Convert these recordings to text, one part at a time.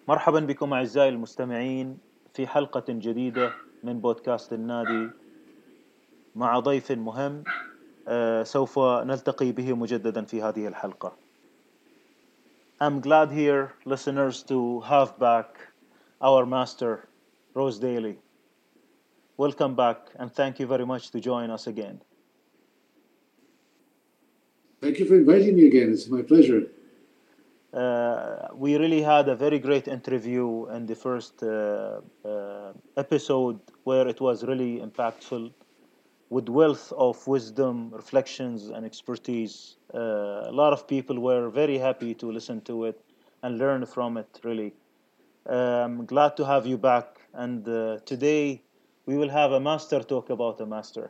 مرحبا بكم أعزائي المستمعين في حلقة جديدة من بودكاست النادي مع ضيف مهم سوف نلتقي به مجددا في هذه الحلقة. I'm glad here, listeners, to have back our master, Rose Daly. Welcome back and thank you very much to join us again. Thank you for inviting me again. It's my pleasure. We really had a very great interview in the first episode where it was really impactful with wealth of wisdom, reflections, and expertise. A lot of people were very happy to listen to it and learn from it, really. I'm glad to have you back. And today we will have a master talk about a master.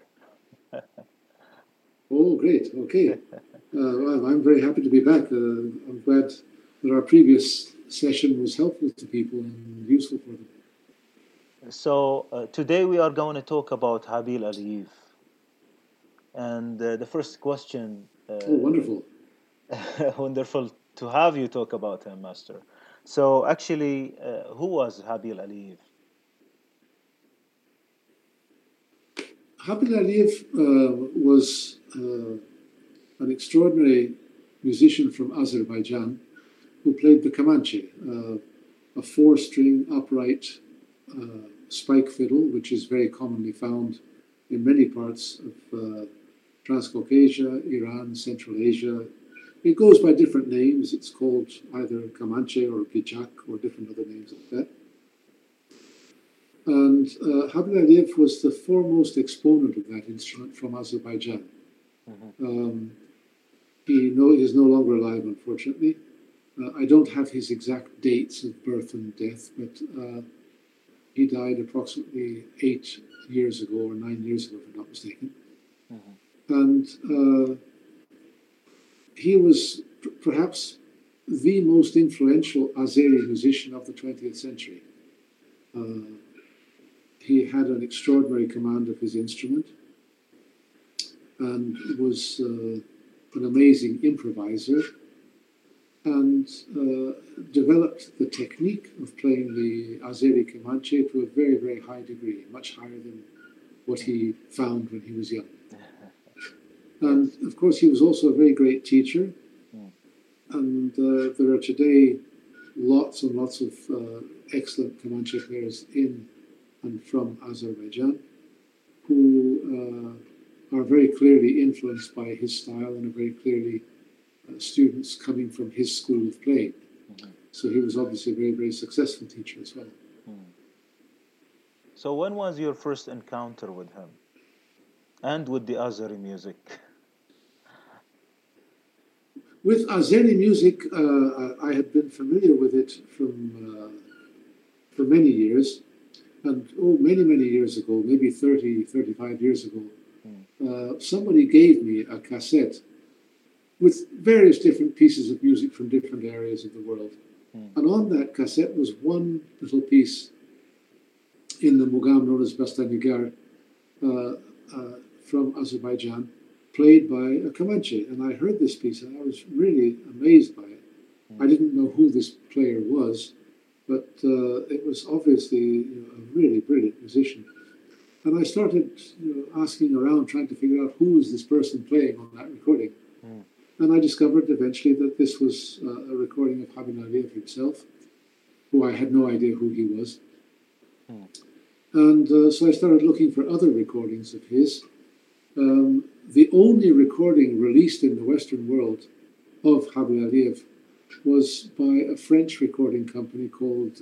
Oh, great. Okay. Well, I'm very happy to be back. I'm glad that our previous session was helpful to people and useful for them. So today we are going to talk about Habil Aliyev. And the first question. Oh, wonderful. Wonderful to have you talk about him, Master. So actually, who was Habil Aliyev? Habil Aliyev was an extraordinary musician from Azerbaijan who played the kamanche, a four-string upright spike fiddle, which is very commonly found in many parts of Transcaucasia, Iran, Central Asia. It goes by different names. It's called either kamanche or pijak or different other names like that. And Habil Aliyev was the foremost exponent of that instrument from Azerbaijan. Mm-hmm. He is no longer alive, unfortunately. I don't have his exact dates of birth and death, but he died approximately 8 years ago or 9 years ago, if I'm not mistaken. Mm-hmm. And he was perhaps the most influential Azeri musician of the 20th century. He had an extraordinary command of his instrument and was an amazing improviser and developed the technique of playing the Azeri kamanche to a very, very high degree, much higher than what he found when he was young. And of course, he was also a very great teacher. And there are today lots and lots of excellent kamanche players in and from Azerbaijan who are very clearly influenced by his style and are very clearly students coming from his school of playing. Mm-hmm. So he was obviously a very, very successful teacher as well. So when was your first encounter with him and with the Azeri music? With Azeri music, I had been familiar with it for many years. And many, many years ago, maybe 30, 35 years ago, somebody gave me a cassette with various different pieces of music from different areas of the world. And on that cassette was one little piece in the Mugam known as Bastanigar from Azerbaijan, played by a kamanche. And I heard this piece and I was really amazed by it. I didn't know who this player was, but it was obviously a really brilliant musician. And I started asking around, trying to figure out who was this person playing on that recording. And I discovered eventually that this was a recording of Habil Aliyev himself, who I had no idea who he was. And so I started looking for other recordings of his. The only recording released in the Western world of Habil Aliyev was by a French recording company called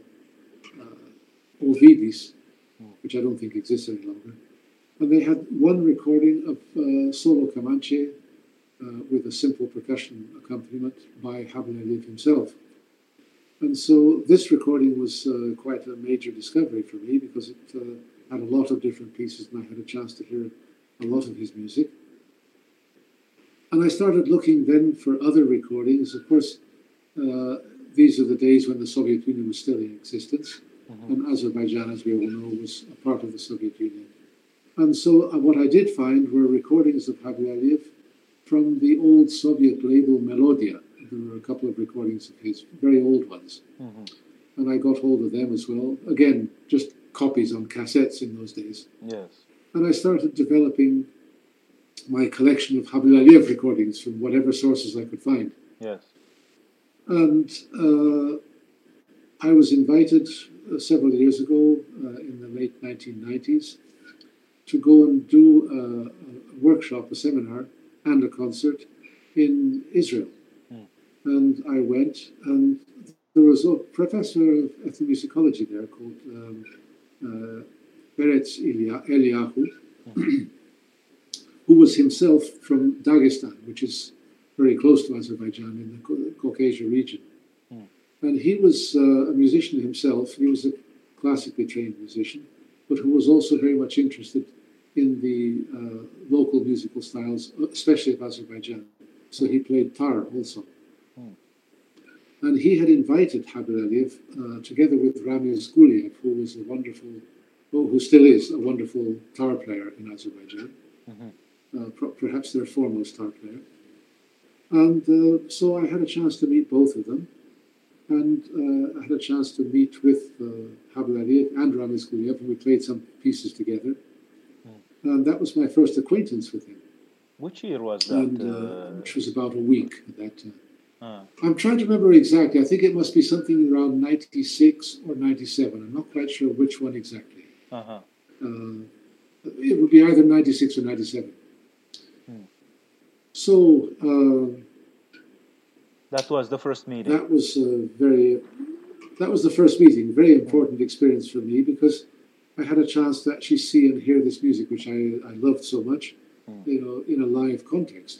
Ovidis, which I don't think exists any longer. And they had one recording of solo kamanche with a simple percussion accompaniment by Habil Aliyev himself. And so this recording was quite a major discovery for me because it had a lot of different pieces and I had a chance to hear a lot of his music. And I started looking then for other recordings. Of course, these are the days when the Soviet Union was still in existence. And Azerbaijan, as we all know, was a part of the Soviet Union. And so what I did find were recordings of Habil Aliyev from the old Soviet label Melodia. There were a couple of recordings of his, very old ones. and I got hold of them as well. Again, just copies on cassettes in those days. Yes. And I started developing my collection of Habib Aliyev recordings from whatever sources I could find. Yes. And I was invited several years ago, in the late 1990s, to go and do a workshop, a seminar, and a concert in Israel. And I went, and there was a professor of ethnomusicology there called Peretz Eliyahu, who was himself from Dagestan, which is very close to Azerbaijan in the Caucasia region. And he was a musician himself. He was a classically trained musician, but who was also very much interested in the local musical styles, especially of Azerbaijan. So he played tar also. And he had invited Habib Aliyev, together with Ramiz Guliev, who was a wonderful, who still is a wonderful tar player in Azerbaijan, perhaps their foremost tar player. And so I had a chance to meet both of them. And I had a chance to meet with Habib Aliyev and Ramiz Guliev, and we played some pieces together. And that was my first acquaintance with him. Which year was that? And, which was about a week at that time. I'm trying to remember exactly. I think it must be something around 96 or 97. I'm not quite sure which one exactly. It would be either 96 or 97. So that was the first meeting. That was the first meeting. Very important experience for me, because I had a chance to actually see and hear this music, which I loved so much, in a live context.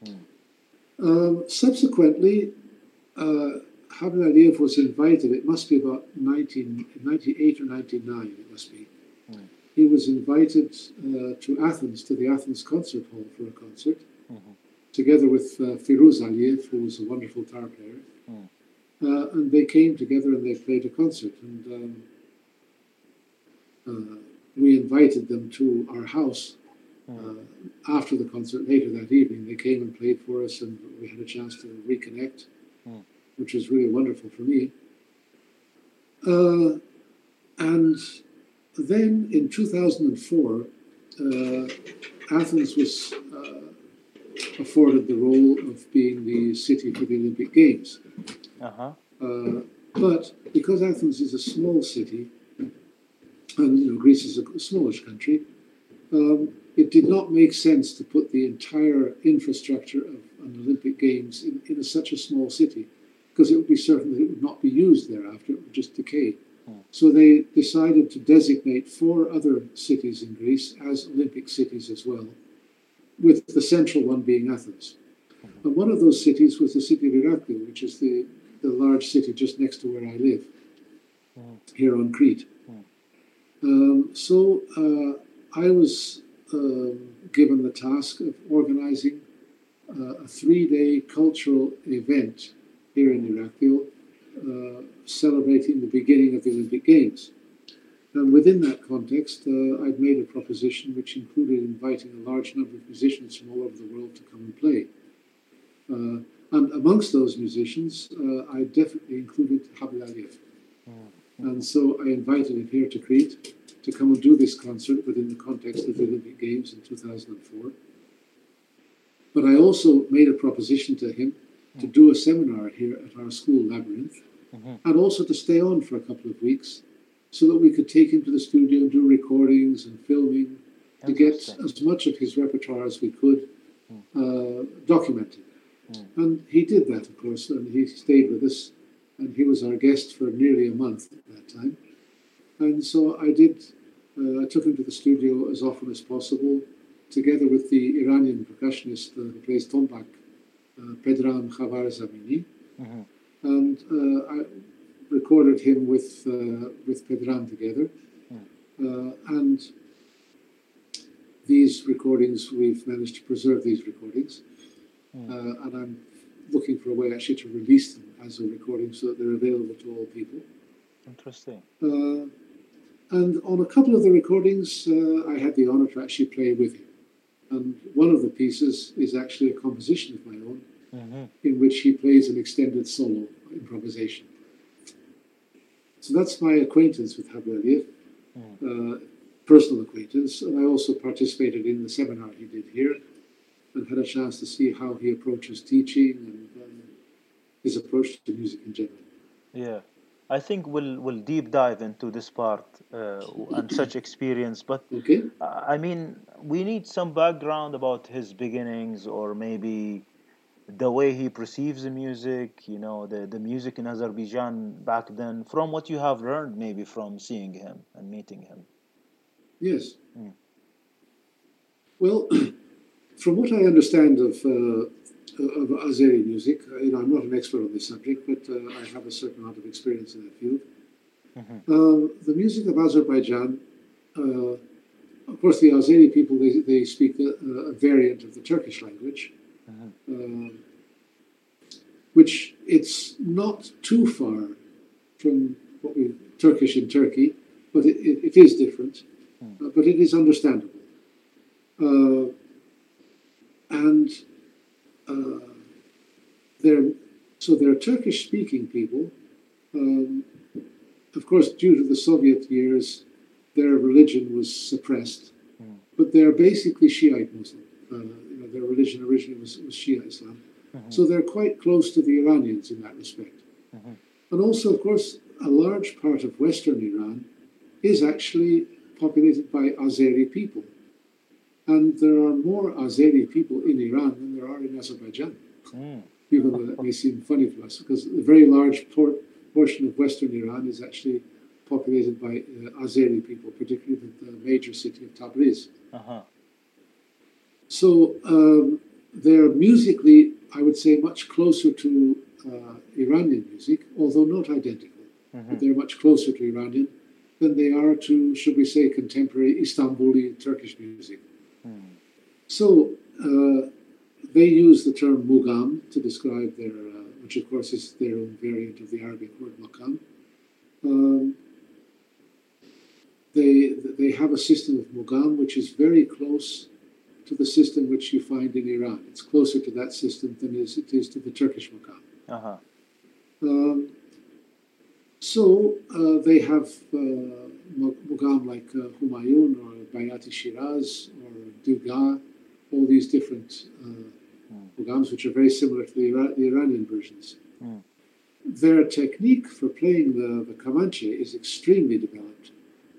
Subsequently, Habib Aliyev was invited. It must be about 1998 or 99. It must be. He was invited to Athens, to the Athens Concert Hall for a concert, together with Firuz Aliyev, who was a wonderful tar player. And they came together and they played a concert. And we invited them to our house after the concert later that evening. They came and played for us, and we had a chance to reconnect, which was really wonderful for me. And then in 2004, Athens was afforded the role of being the city for the Olympic Games. But because Athens is a small city, and Greece is a smallish country, it did not make sense to put the entire infrastructure of an Olympic Games in such a small city, because it would be certain that it would not be used thereafter. It would just decay. So they decided to designate 4 other cities in Greece as Olympic cities as well, with the central one being Athens. And one of those cities was the city of Heraklion, which is the large city just next to where I live, here on Crete. So I was given the task of organizing a 3-day cultural event here in Heraklion, celebrating the beginning of the Olympic Games. And within that context, I'd made a proposition which included inviting a large number of musicians from all over the world to come and play. And amongst those musicians, I definitely included Habib Aliyev. And so I invited him here to Crete to come and do this concert within the context of the Olympic Games in 2004. But I also made a proposition to him to do a seminar here at our school, Labyrinth, and also to stay on for a couple of weeks so that we could take him to the studio and do recordings and filming to get as much of his repertoire as we could documented. And he did that, of course, and he stayed with us, and he was our guest for nearly a month at that time. And so I took him to the studio as often as possible, together with the Iranian percussionist who plays tombak, Pedram Khavarzamini. And I recorded him with Pedram together. And these recordings, we've managed to preserve these recordings. And I'm looking for a way actually to release them as a recording so that they're available to all people. Interesting. And on a couple of the recordings, I had the honor to actually play with him. And one of the pieces is actually a composition of my own, in which he plays an extended solo improvisation. So that's my acquaintance with Habib Aliyev, personal acquaintance, and I also participated in the seminar he did here and had a chance to see how he approaches teaching and his approach to music in general. Yeah, I think we'll deep dive into this part and such experience. But Okay. I mean, we need some background about his beginnings, or maybe the way he perceives the music. You know, the music in Azerbaijan back then, from what you have learned, maybe from seeing him and meeting him. Yes. Mm. Well, from what I understand of Azeri music, I'm not an expert on this subject, but I have a certain amount of experience in that field. The music of Azerbaijan, of course, the Azeri people, they speak a variant of the Turkish language, which it's not too far from what we Turkish in Turkey, but it is different, but it is understandable. And they're Turkish-speaking people. Of course, due to the Soviet years, their religion was suppressed, but they're basically Shiite Muslim. Their religion originally was Shia Islam. So they're quite close to the Iranians in that respect. And also, of course, a large part of Western Iran is actually populated by Azeri people. And there are more Azeri people in Iran than there are in Azerbaijan. Even though that may seem funny to us, because a very large portion of Western Iran is actually populated by Azeri people, particularly the major city of Tabriz. So they're musically, I would say, much closer to Iranian music, although not identical. But they're much closer to Iranian than they are to, should we say, contemporary Istanbuli Turkish music. So they use the term mugam to describe their, which of course is their own variant of the Arabic word makam. They have a system of mugam which is very close to the system which you find in Iran. It's closer to that system than it is to the Turkish makam. So they have mugam like Humayun or Bayati Shiraz or Duga, all these different mugams which are very similar to the Iranian versions. Their technique for playing the Kamanche is extremely developed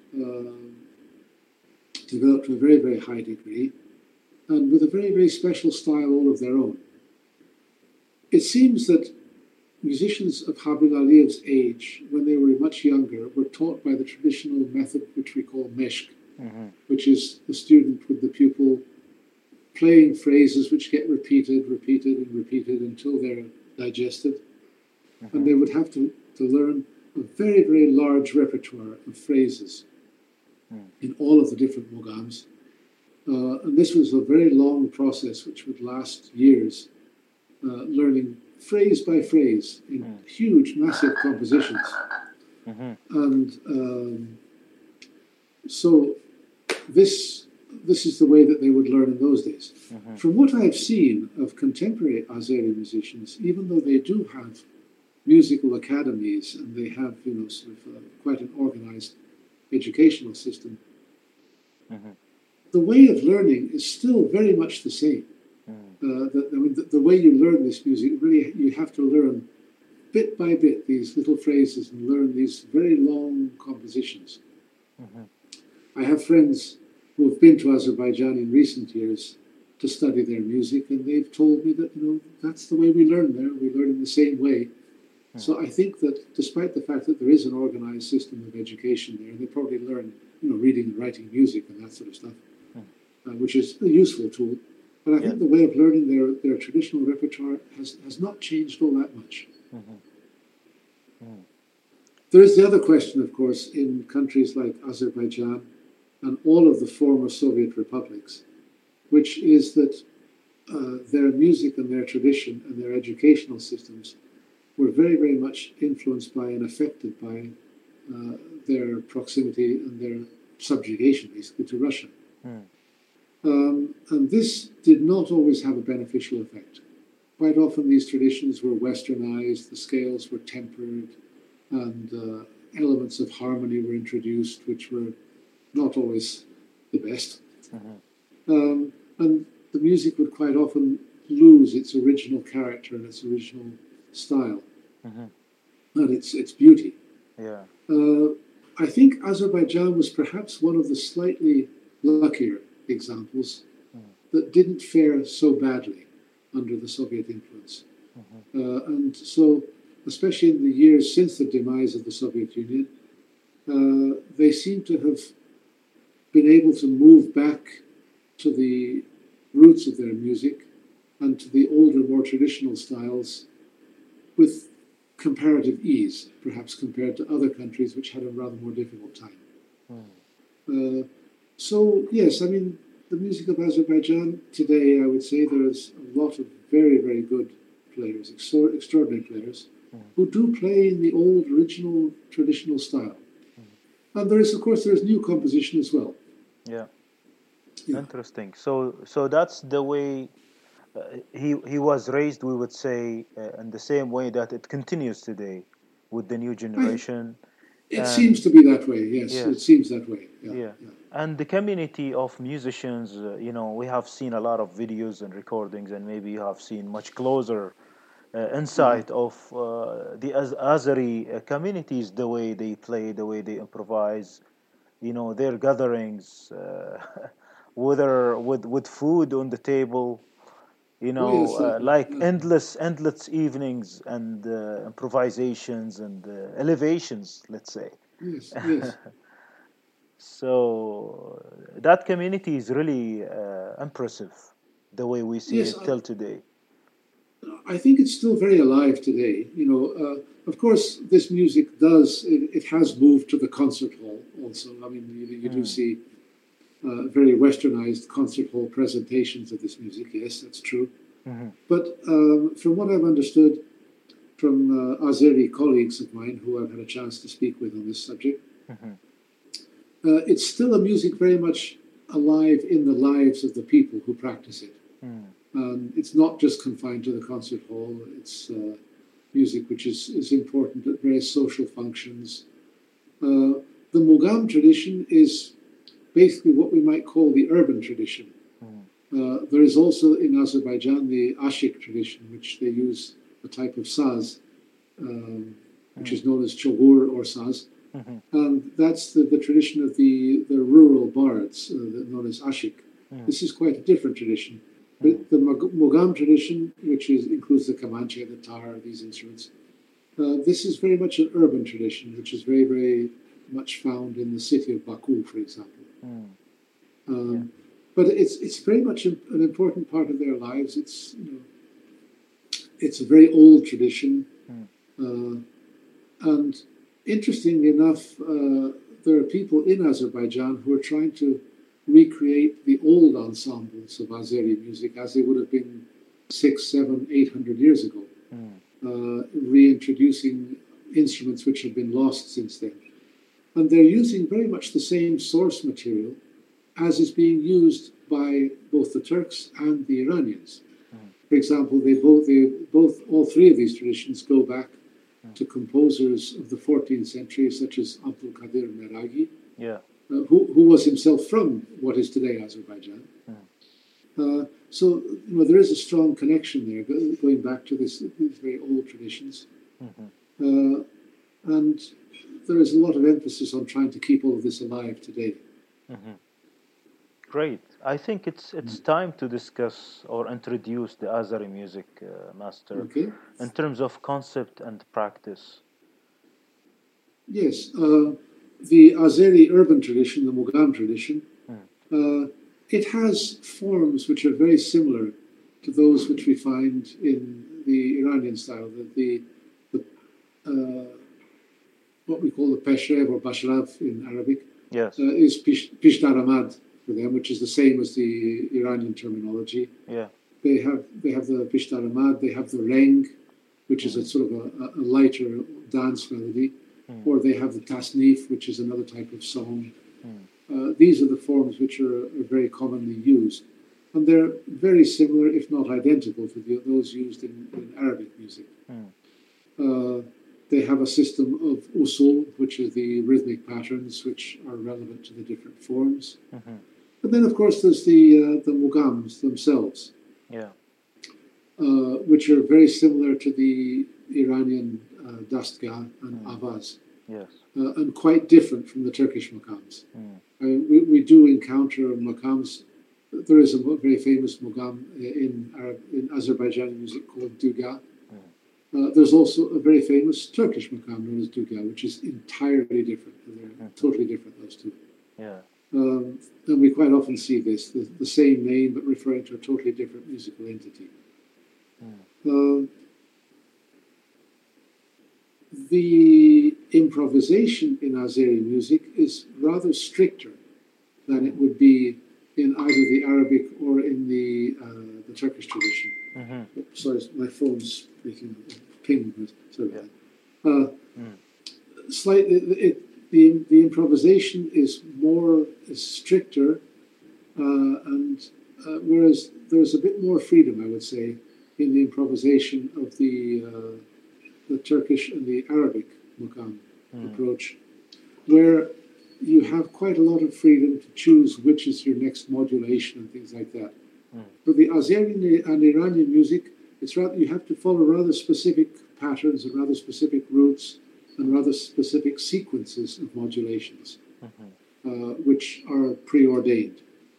to a very, very high degree, and with a very, very special style all of their own. It seems that musicians of Habib Aliyev's age, when they were much younger, were taught by the traditional method which we call meshq, which is the student with the pupil playing phrases which get repeated until they're digested. And they would have to learn a very, very large repertoire of phrases in all of the different mugams. And this was a very long process which would last years, learning phrase by phrase in huge, massive compositions. And so this is the way that they would learn in those days. From what I've seen of contemporary Azeri musicians, even though they do have musical academies and they have, quite an organized educational system, the way of learning is still very much the same. The way you learn this music, really, you have to learn bit by bit these little phrases and learn these very long compositions. I have friends who have been to Azerbaijan in recent years to study their music, and they've told me that, that's the way we learn there. We learn in the same way. So I think that despite the fact that there is an organized system of education there, they probably learn, reading and writing music and that sort of stuff, which is a useful tool. But I think the way of learning their traditional repertoire has not changed all that much. There is the other question, of course, in countries like Azerbaijan and all of the former Soviet republics, which is that their music and their tradition and their educational systems were very, very much influenced by and affected by their proximity and their subjugation, basically, to Russia. And this did not always have a beneficial effect. Quite often these traditions were westernized, the scales were tempered, and elements of harmony were introduced, which were not always the best. And the music would quite often lose its original character and its original style and its beauty. Yeah. I think Azerbaijan was perhaps one of the slightly luckier examples that didn't fare so badly under the Soviet influence. And so, especially in the years since the demise of the Soviet Union, they seem to have been able to move back to the roots of their music and to the older, more traditional styles with comparative ease, perhaps compared to other countries which had a rather more difficult time. So, yes, I mean, the music of Azerbaijan today, I would say there is a lot of very, very good players, extraordinary players, who do play in the old, original, traditional style. And there is, of course, there is new composition as well. Yeah. Interesting. So that's the way he was raised, we would say, in the same way that it continues today with the new generation. It seems to be that way, yes. It seems that way. Yeah. And the community of musicians, we have seen a lot of videos and recordings, and maybe you have seen much closer insight of the Azeri communities, the way they play, the way they improvise, their gatherings, whether with food on the table, like endless evenings and improvisations and elevations, let's say. Yes. So that community is really impressive, the way we see it till today. I think it's still very alive today. Of course, this music it has moved to the concert hall also. I mean, you do see very westernized concert hall presentations of this music. Yes, that's true. But from what I've understood from Azeri colleagues of mine who I've had a chance to speak with on this subject, it's still a music very much alive in the lives of the people who practice it. It's not just confined to the concert hall. It's music which is important at various social functions. The Mugham tradition is basically what we might call the urban tradition. There is also in Azerbaijan the Ashik tradition, which they use a type of saz, which is known as chogur or saz. And that's the tradition of the rural bards, known as Ashik. This is quite a different tradition. But the Mugham tradition, which includes the Kamanche, the tar, these instruments, this is very much an urban tradition, which is very, very much found in the city of Baku, for example. But it's very much an important part of their lives. It's a very old tradition, and interestingly enough, there are people in Azerbaijan who are trying to recreate the old ensembles of Azeri music as they would have been 600, 700, 800 years ago, reintroducing instruments which have been lost since then. And they're using very much the same source material as is being used by both the Turks and the Iranians. For example, all three of these traditions go back to composers of the 14th century, such as Abdul Qadir Meragi, who was himself from what is today Azerbaijan. So there is a strong connection there, going back to these very old traditions. And there is a lot of emphasis on trying to keep all of this alive today. Great. I think it's time to discuss or introduce the Azeri music, Master, in terms of concept and practice. Yes. The Azeri urban tradition, the Mugham tradition, it has forms which are very similar to those which we find in the Iranian style, what we call the Peshrev or Bashrav in Arabic, is Pishtaramad for them, which is the same as the Iranian terminology. They have the Pishtaramad, they have the Reng, which is a sort of a lighter dance melody, or they have the Tasnif, which is another type of song. These are the forms which are very commonly used. And they're very similar, if not identical, to those used in Arabic music. they have a system of usul, which is the rhythmic patterns which are relevant to the different forms. Mm-hmm. But then, of course, there's the mugams themselves, Yeah. which are very similar to the Iranian dastgah and avaz, Yes. and quite different from the Turkish makams. We do encounter makams. There is a very famous mugam in Azerbaijani music called duga. There's also a very famous Turkish makam known as duga, which is entirely different. They're totally different, those two. Yeah. And we quite often see this, the same name, but referring to a totally different musical entity. The improvisation in Azeri music is rather stricter than it would be in either the Arabic or in the Turkish tradition. Mm-hmm. Sorry, my phone's making a ping. Sorry about that. Slightly, the improvisation is stricter, and whereas there's a bit more freedom, I would say, in the improvisation of the Turkish and the Arabic maqam approach, where you have quite a lot of freedom to choose which is your next modulation and things like that. For the Azeri and Iranian music, it's rather you have to follow rather specific patterns and rather specific routes and rather specific sequences of modulations, which are preordained.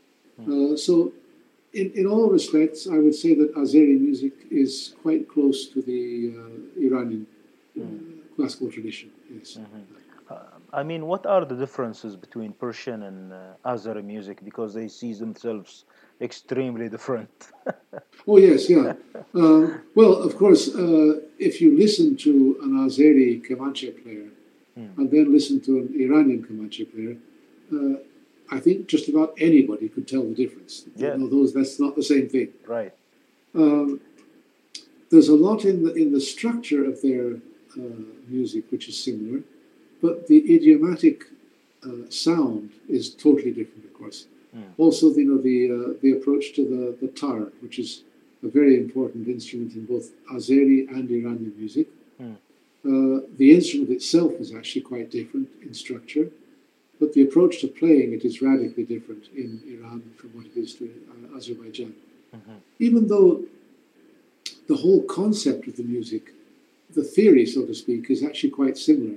So, in all respects, I would say that Azeri music is quite close to the Iranian classical tradition. Yes. I mean, what are the differences between Persian and Azeri music? Because they see themselves extremely different. Oh, yes, yeah. Well, of course, if you listen to an Azeri Kamanche player and then listen to an Iranian Kamanche player, I think just about anybody could tell the difference. Yeah. That's not the same thing. Right. There's a lot in the structure of their music which is similar, but the idiomatic sound is totally different, of course. Also, the approach to the tar, which is a very important instrument in both Azeri and Iranian music. The instrument itself is actually quite different in structure, but the approach to playing it is radically different in Iran from what it is to Azerbaijan. Even though the whole concept of the music, the theory, so to speak, is actually quite similar,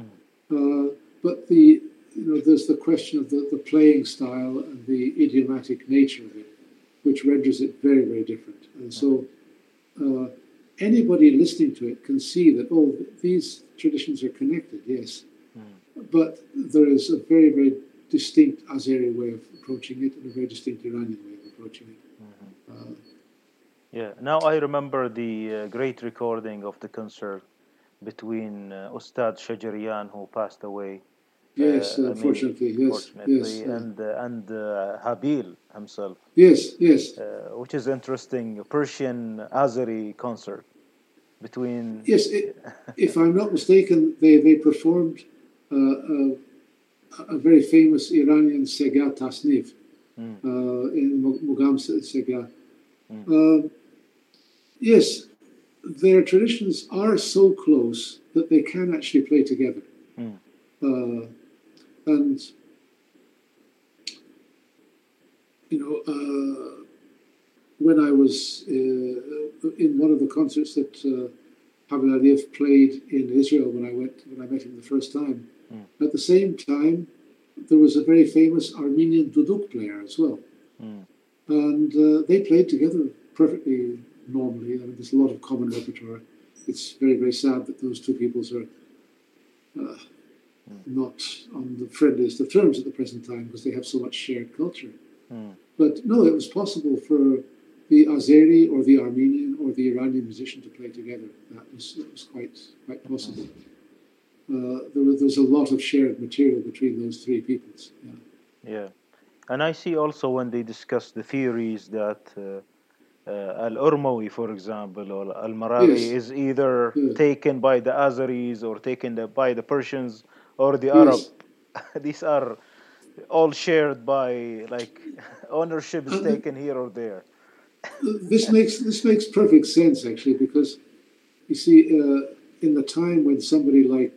but there's the question of the playing style and the idiomatic nature of it, which renders it very, very different. And so anybody listening to it can see that, these traditions are connected, yes, but there is a very, very distinct Azeri way of approaching it and a very distinct Iranian way of approaching it. Yeah, now I remember the great recording of the concert between Ustad Shajarian, who passed away. Yes, unfortunately, yes, and Habil himself. Yes. Which is interesting, Persian Azeri concert between. Yes, if I'm not mistaken, they performed a very famous Iranian Sega Tasnif in Mugam Sega. Yes, their traditions are so close that they can actually play together. And, when I was in one of the concerts that Habib Aliyev played in Israel when I met him the first time, at the same time, there was a very famous Armenian duduk player as well. And they played together perfectly normally. I mean, there's a lot of common repertoire. It's very, very sad that those two peoples are not on the friendliest of terms at the present time because they have so much shared culture. But no, it was possible for the Azeri or the Armenian or the Iranian musician to play together. That was quite possible. There's a lot of shared material between those three peoples. Yeah. And I see also when they discuss the theories that Al-Urmawi, for example, or Al-Maraghi is either taken by the Azeris or taken by the Persians or the Arab. These are all shared by, like, ownership is taken here or there. This makes perfect sense, actually, because you see, in the time when somebody like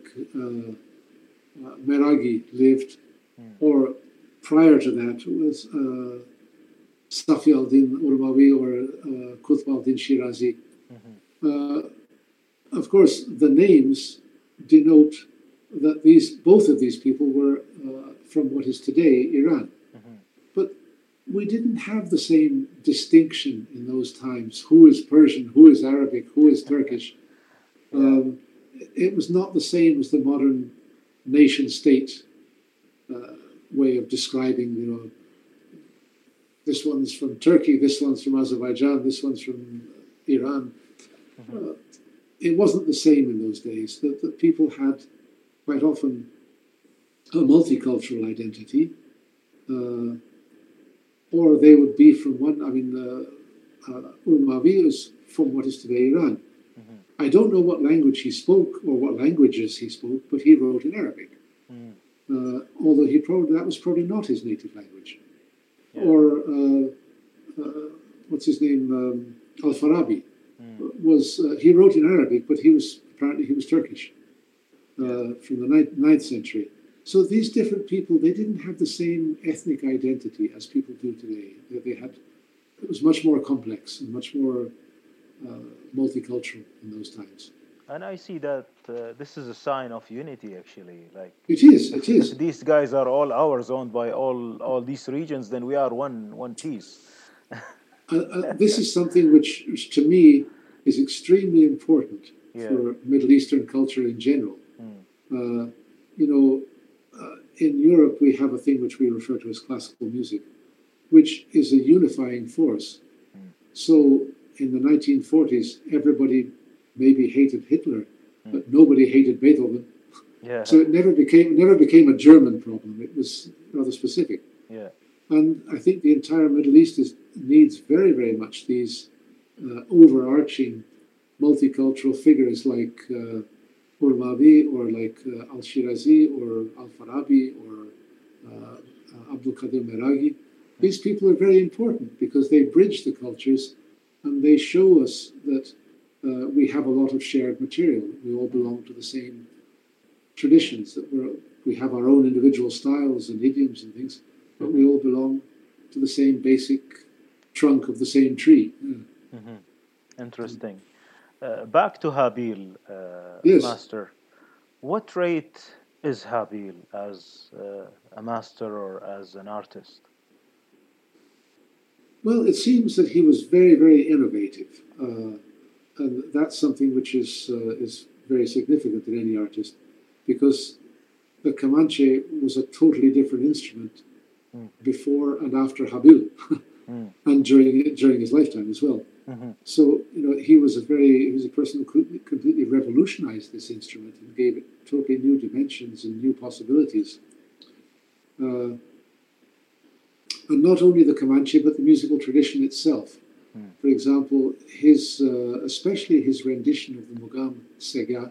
Meragi lived, or prior to that was Safi al-Din Urmawi or Qutb al-Din Shirazi. Of course, the names denote that both of these people were from what is today Iran. But we didn't have the same distinction in those times. Who is Persian? Who is Arabic? Who is Turkish? It was not the same as the modern nation-state way of describing, this one's from Turkey, this one's from Azerbaijan, this one's from Iran. It wasn't the same in those days. That people had quite often a multicultural identity, or they would be from one. I mean, Urmawi is from what is today Iran. I don't know what language he spoke or what languages he spoke, but he wrote in Arabic. Although that was probably not his native language. Or what's his name? Al-Farabi he wrote in Arabic, but he was Turkish from the 9th century. So these different people, they didn't have the same ethnic identity as people do today. It was much more complex and much more multicultural in those times. And I see that this is a sign of unity, actually. Like it is. If these guys are all ours, owned by all these regions, then we are one piece. This is something which to me is extremely important for Middle Eastern culture in general. In Europe, we have a thing which we refer to as classical music, which is a unifying force. So in the 1940s, everybody maybe hated Hitler, but nobody hated Beethoven. So it never became a German problem. It was rather specific. And I think the entire Middle East needs very, very much these overarching multicultural figures like Urmawi or like Al-Shirazi or Al-Farabi or Abdul Qadir Meragi. These people are very important because they bridge the cultures and they show us that we have a lot of shared material. We all belong to the same traditions, that we have our own individual styles and idioms and things, but we all belong to the same basic trunk of the same tree. Interesting. Back to Habil, yes. Master. What rate is Habil as a master or as an artist? Well, it seems that he was very, very innovative. And that's something which is very significant in any artist, because the Kamanche was a totally different instrument before and after Habil, and during his lifetime as well. So he was a person who completely revolutionized this instrument and gave it totally new dimensions and new possibilities. And not only the Kamanche, but the musical tradition itself. For example, especially his rendition of the Mugam Sega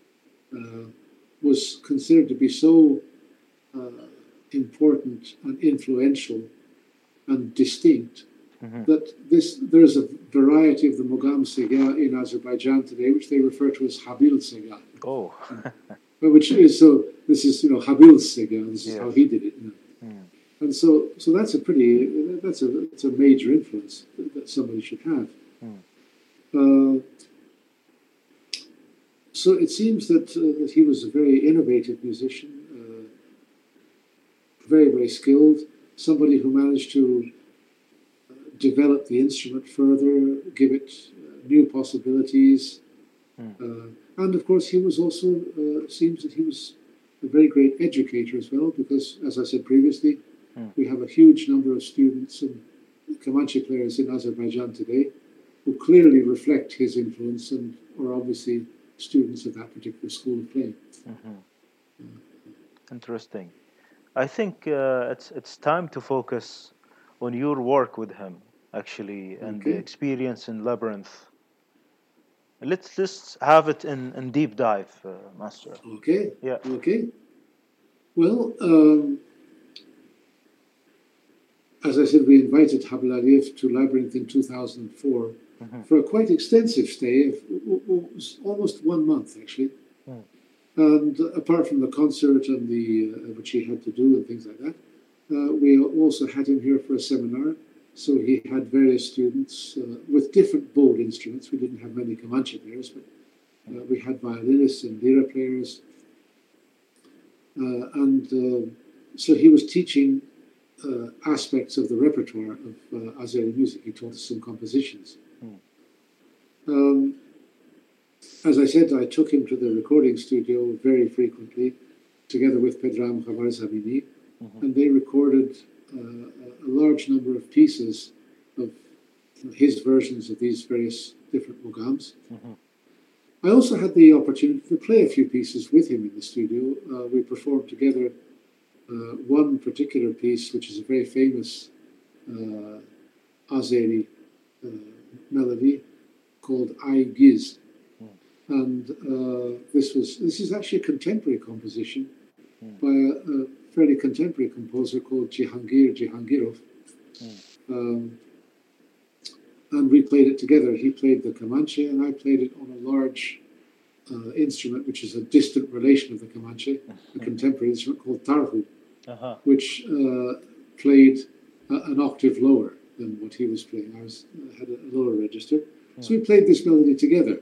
was considered to be so important and influential and distinct that there's a variety of the Mugam Sega in Azerbaijan today, which they refer to as Habil Sega. Oh, which is this is Habil's Sega. This is how he did it. And so that's it's a major influence that somebody should have. So it seems that he was a very innovative musician, very, very skilled, somebody who managed to develop the instrument further, give it new possibilities. And of course, he was also, seems that he was a very great educator as well, because, as I said previously, we have a huge number of students and Kamanche players in Azerbaijan today who clearly reflect his influence and are obviously students of that particular school of playing. Interesting. I think it's time to focus on your work with him, actually, and the experience in Labyrinth. Let's just have it in deep dive, Master. Okay. Yeah. Okay. Well, as I said, we invited Habil Aliyev to Labyrinth in 2004, for a quite extensive stay of almost 1 month, actually. And apart from the concert and the which he had to do and things like that, we also had him here for a seminar. So he had various students with different bowed instruments. We didn't have many Comanche players, but we had violinists and lira players. So he was teaching aspects of the repertoire of Azeri music. He taught us some compositions. As I said, I took him to the recording studio very frequently, together with Pedram Khawarizmini, and they recorded a large number of pieces of his versions of these various different mogams. I also had the opportunity to play a few pieces with him in the studio. We performed together one particular piece, which is a very famous Azeri melody called Ay Giz. And this is actually a contemporary composition by a fairly contemporary composer called Jihangir Jihangirov. And we played it together. He played the Comanche, and I played it on a large instrument, which is a distant relation of the Comanche, a contemporary instrument called tarhu, which played an octave lower than what he was playing. I had a lower register. So we played this melody together.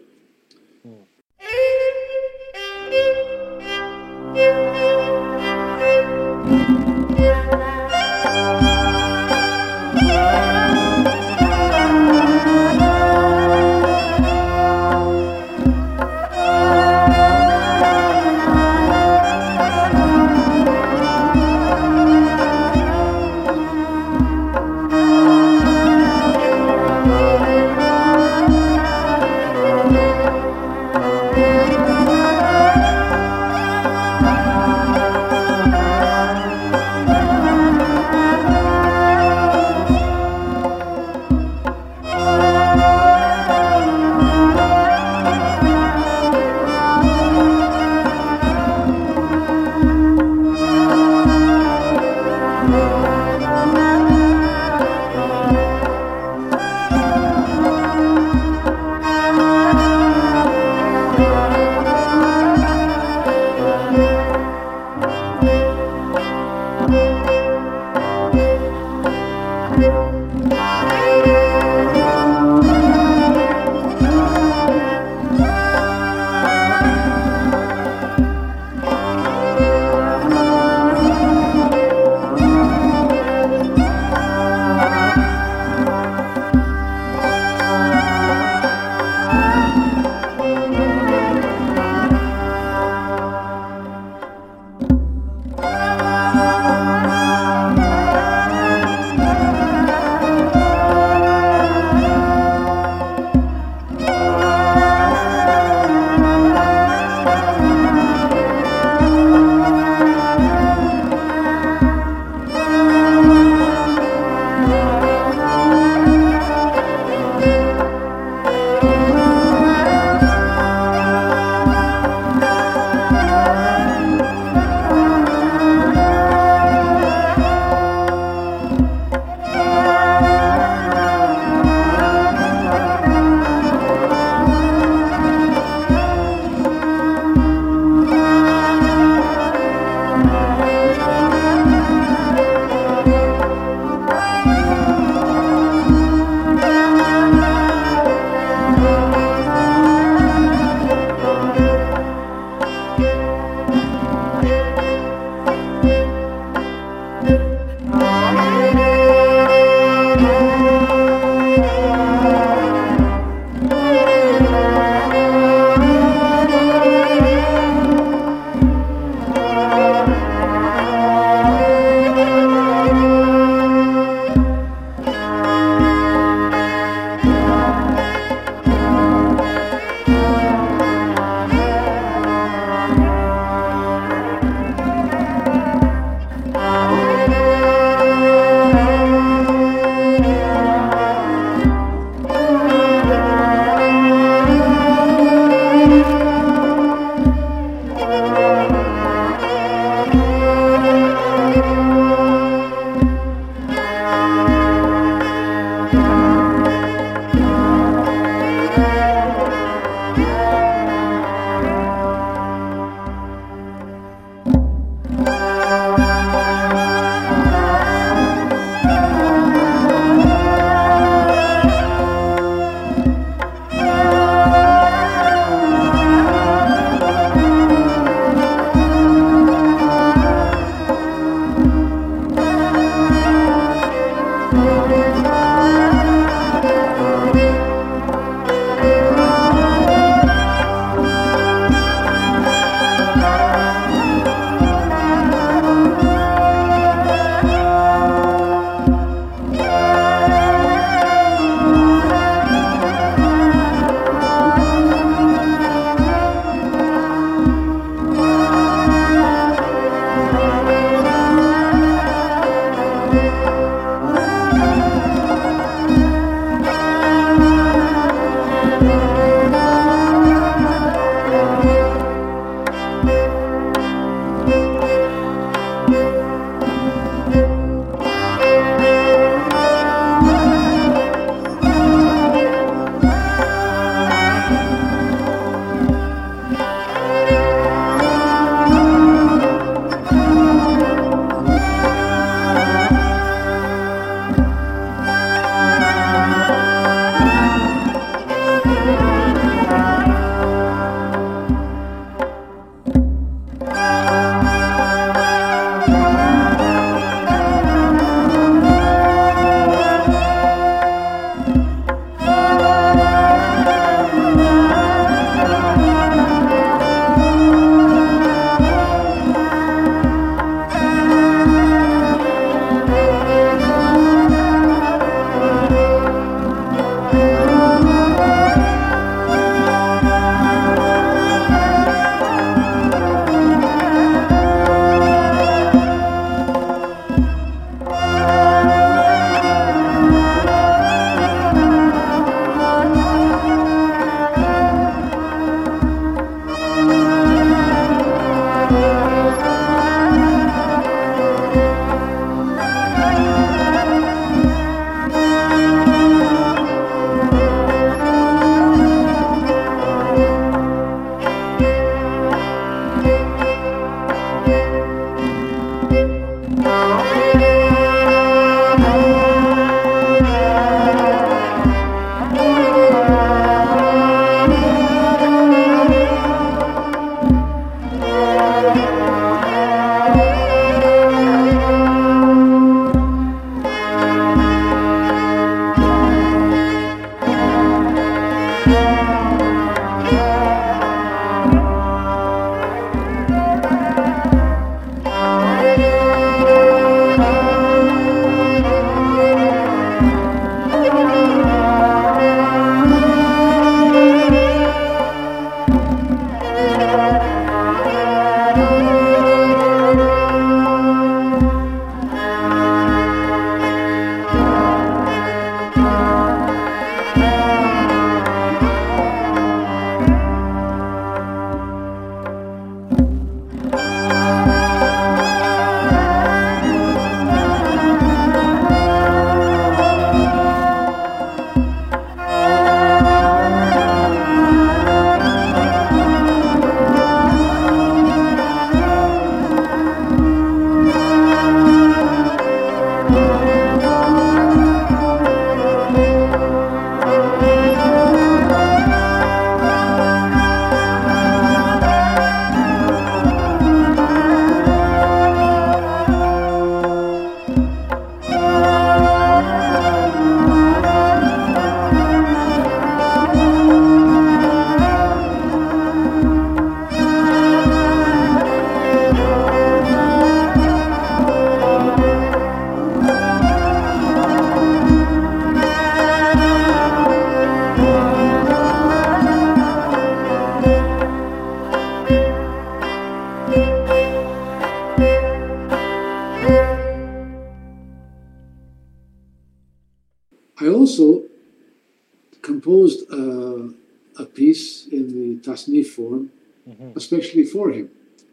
composed a piece in the tasnif form, especially for him.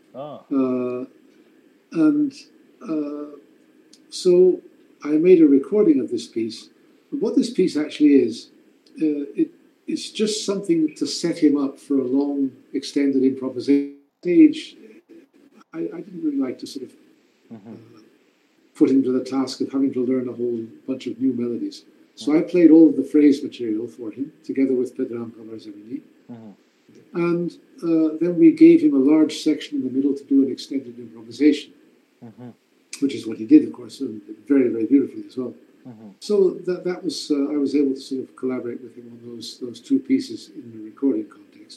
So I made a recording of this piece. But what this piece actually is, it's just something to set him up for a long, extended improvisation stage. I didn't really like to sort of put him to the task of having to learn a whole bunch of new melodies. So I played all of the phrase material for him, together with Pedram Kavarzemini. And then we gave him a large section in the middle to do an extended improvisation, which is what he did, of course, and very, very beautifully as well. So that was, I was able to sort of collaborate with him on those two pieces in the recording context.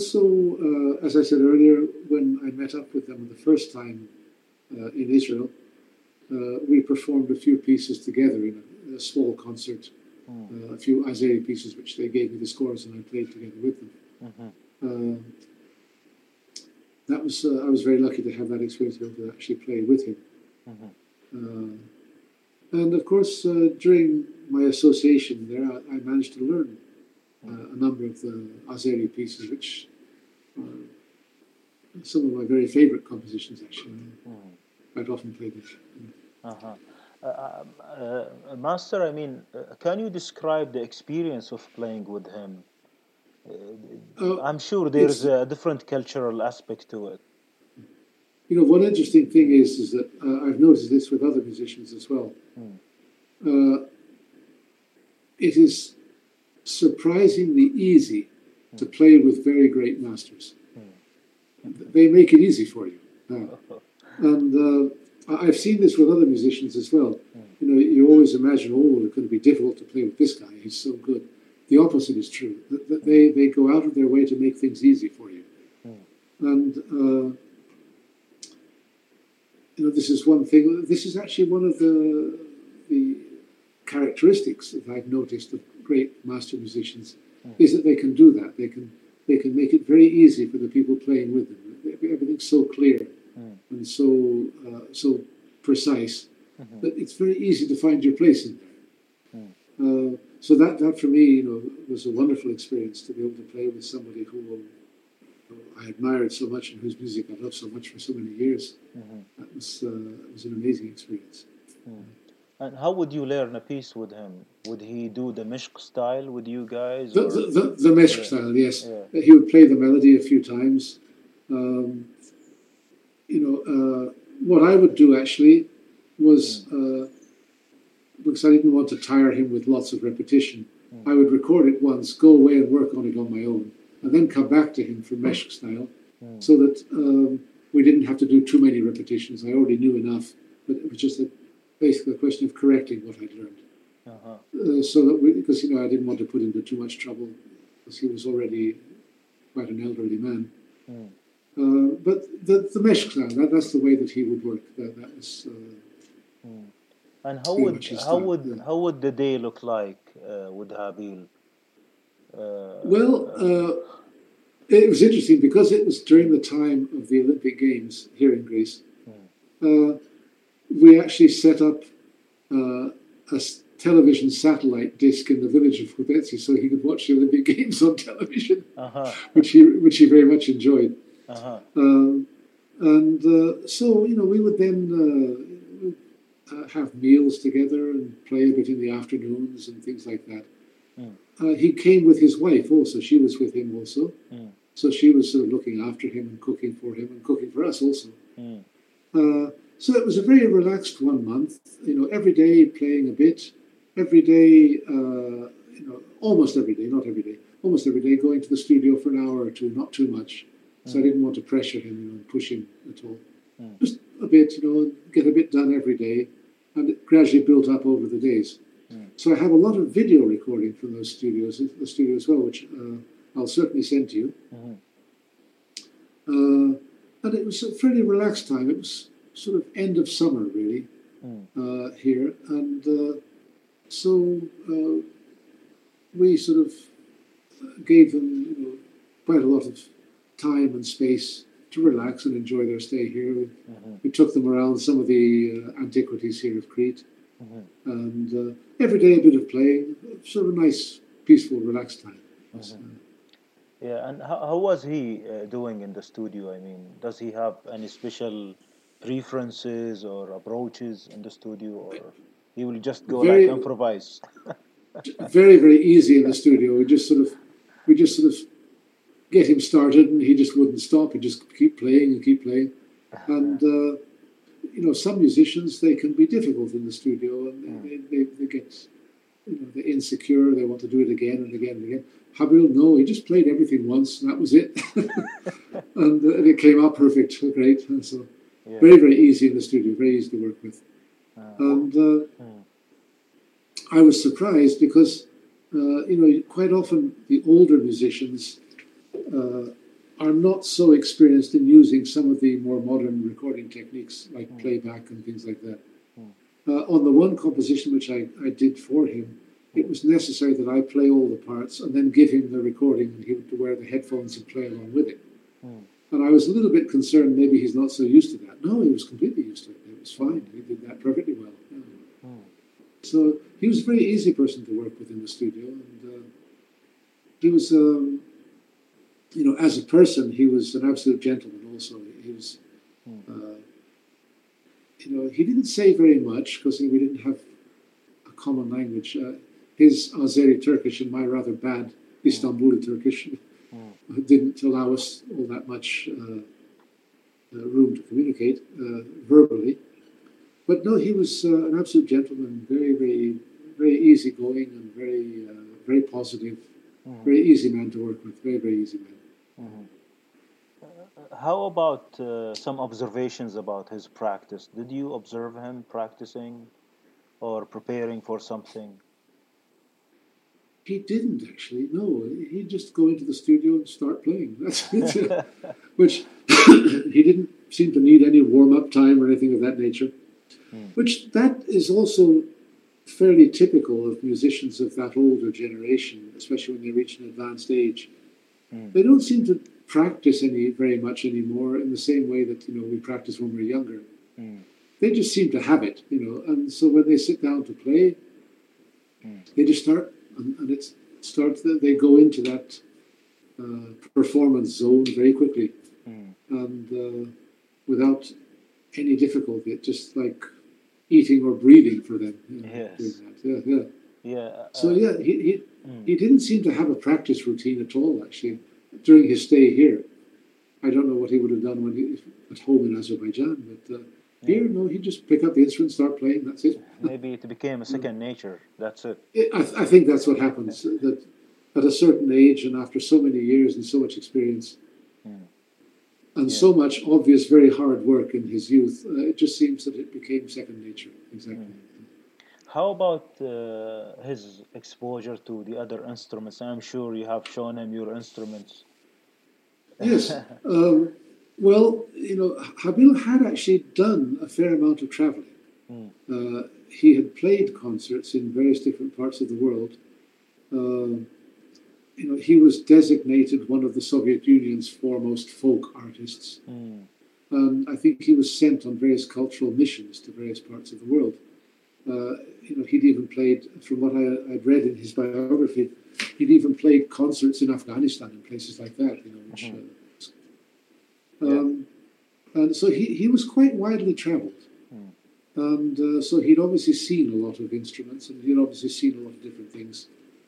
also, as I said earlier, when I met up with them the first time in Israel, we performed a few pieces together in a small concert, a few Azeri pieces which they gave me the scores and I played together with them. I was very lucky to have that experience to be able to actually play with him. And of course, during my association there, I managed to learn a number of the Azeri pieces, which are some of my very favorite compositions, actually. I'd often play them. Master, I mean, can you describe the experience of playing with him? I'm sure there's a different cultural aspect to it. You know, one interesting thing is that I've noticed this with other musicians as well. It is surprisingly easy to play with very great masters. They make it easy for you. And I've seen this with other musicians as well. You know, you always imagine, oh, it's going to be difficult to play with this guy. He's so good. The opposite is true. They go out of their way to make things easy for you. And, you know, this is one thing. This is actually one of the characteristics that I've noticed of great master musicians, is that they can do that. They can make it very easy for the people playing with them. Everything's so clear and so precise that it's very easy to find your place in there. So that for me, you know, was a wonderful experience to be able to play with somebody who I admired so much and whose music I loved so much for so many years. That was an amazing experience. And how would you learn a piece with him? Would he do the Meshq style with you guys? The Meshq style, yes. He would play the melody a few times. You know, what I would do actually was, because I didn't want to tire him with lots of repetition, I would record it once, go away and work on it on my own, and then come back to him for Meshq style, so that we didn't have to do too many repetitions. I already knew enough, but it was just basically a question of correcting what I'd learned. So that because, you know, I didn't want to put him to too much trouble, because he was already quite an elderly man. But the Meshq style, that's the way that he would work. That was. And how would the day look like with Habil? It was interesting because it was during the time of the Olympic Games here in Greece. We actually set up a television satellite disc in the village of Koutetsi so he could watch the Olympic Games on television, which he very much enjoyed. So, you know, we would then have meals together and play a bit in the afternoons and things like that. He came with his wife also. She was with him also. So she was sort of looking after him and cooking for him and cooking for us also. So it was a very relaxed 1 month, you know, every day playing a bit, every day, you know, almost every day, not every day, almost every day going to the studio for an hour or two, not too much. So I didn't want to pressure him, you know, and push him at all. Just a bit, you know, get a bit done every day, and it gradually built up over the days. So I have a lot of video recording from those studios, the studio as well, which I'll certainly send to you. And it was a fairly relaxed time. It was sort of end of summer, really, here. And so we sort of gave them, you know, quite a lot of time and space to relax and enjoy their stay here. We took them around some of the antiquities here of Crete. And every day a bit of playing, sort of a nice, peaceful, relaxed time. Yeah, and how was he doing in the studio? I mean, does he have any special preferences or approaches in the studio, or he will just go like improvise? Very, very easy in the studio. We just sort of get him started, and he just wouldn't stop. He'd just keep playing and keep playing. And you know, some musicians, they can be difficult in the studio, and they get, you know, they're insecure. They want to do it again and again and again. Habil, no, he just played everything once, and that was it. And it came out perfect, great. And so very, very easy in the studio, very easy to work with. And I was surprised because, you know, quite often the older musicians, are not so experienced in using some of the more modern recording techniques like playback and things like that. On the one composition which I did for him, it was necessary that I play all the parts and then give him the recording, and he would wear the headphones and play along with it. And I was a little bit concerned maybe he's not so used to that. No, he was completely used to it. It was fine. He did that perfectly well. Yeah. So he was a very easy person to work with in the studio, and he was, as a person, he was an absolute gentleman. Also, he was, he didn't say very much because we didn't have a common language. His Azeri Turkish and my rather bad Istanbuli Turkish didn't allow us all that much room to communicate verbally. But no, he was an absolute gentleman, very, very, very easygoing and very, very positive, very easy man to work with, very, very easy man. How about some observations about his practice? Did you observe him practicing or preparing for something? He didn't actually. No, he'd just go into the studio and start playing. That's it. Which he didn't seem to need any warm-up time or anything of that nature. Which that is also fairly typical of musicians of that older generation, especially when they reach an advanced age. They don't seem to practice very much anymore in the same way that we practice when we're younger. They just seem to have it, and so when they sit down to play, they just start, and it starts. They go into that performance zone very quickly, and without any difficulty. It's just like eating or breathing for them. Yes. So he didn't seem to have a practice routine at all. Actually, during his stay here, I don't know what he would have done when he at home in Azerbaijan, but here, no, he'd just pick up the instrument, start playing. That's it. Maybe it became a second nature. That's it. I think that's what happens. That at a certain age and after so many years and so much experience, and so much obvious, very hard work in his youth, it just seems that it became second nature. Exactly. How about his exposure to the other instruments? I'm sure you have shown him your instruments. Yes. Well, Habil had actually done a fair amount of traveling. He had played concerts in various different parts of the world. He was designated one of the Soviet Union's foremost folk artists. And I think he was sent on various cultural missions to various parts of the world. He'd even played, from what I'd read in his biography, he'd even played concerts in Afghanistan and places like that, which... And so he was quite widely traveled. And so he'd obviously seen a lot of instruments, and he'd obviously seen a lot of different things.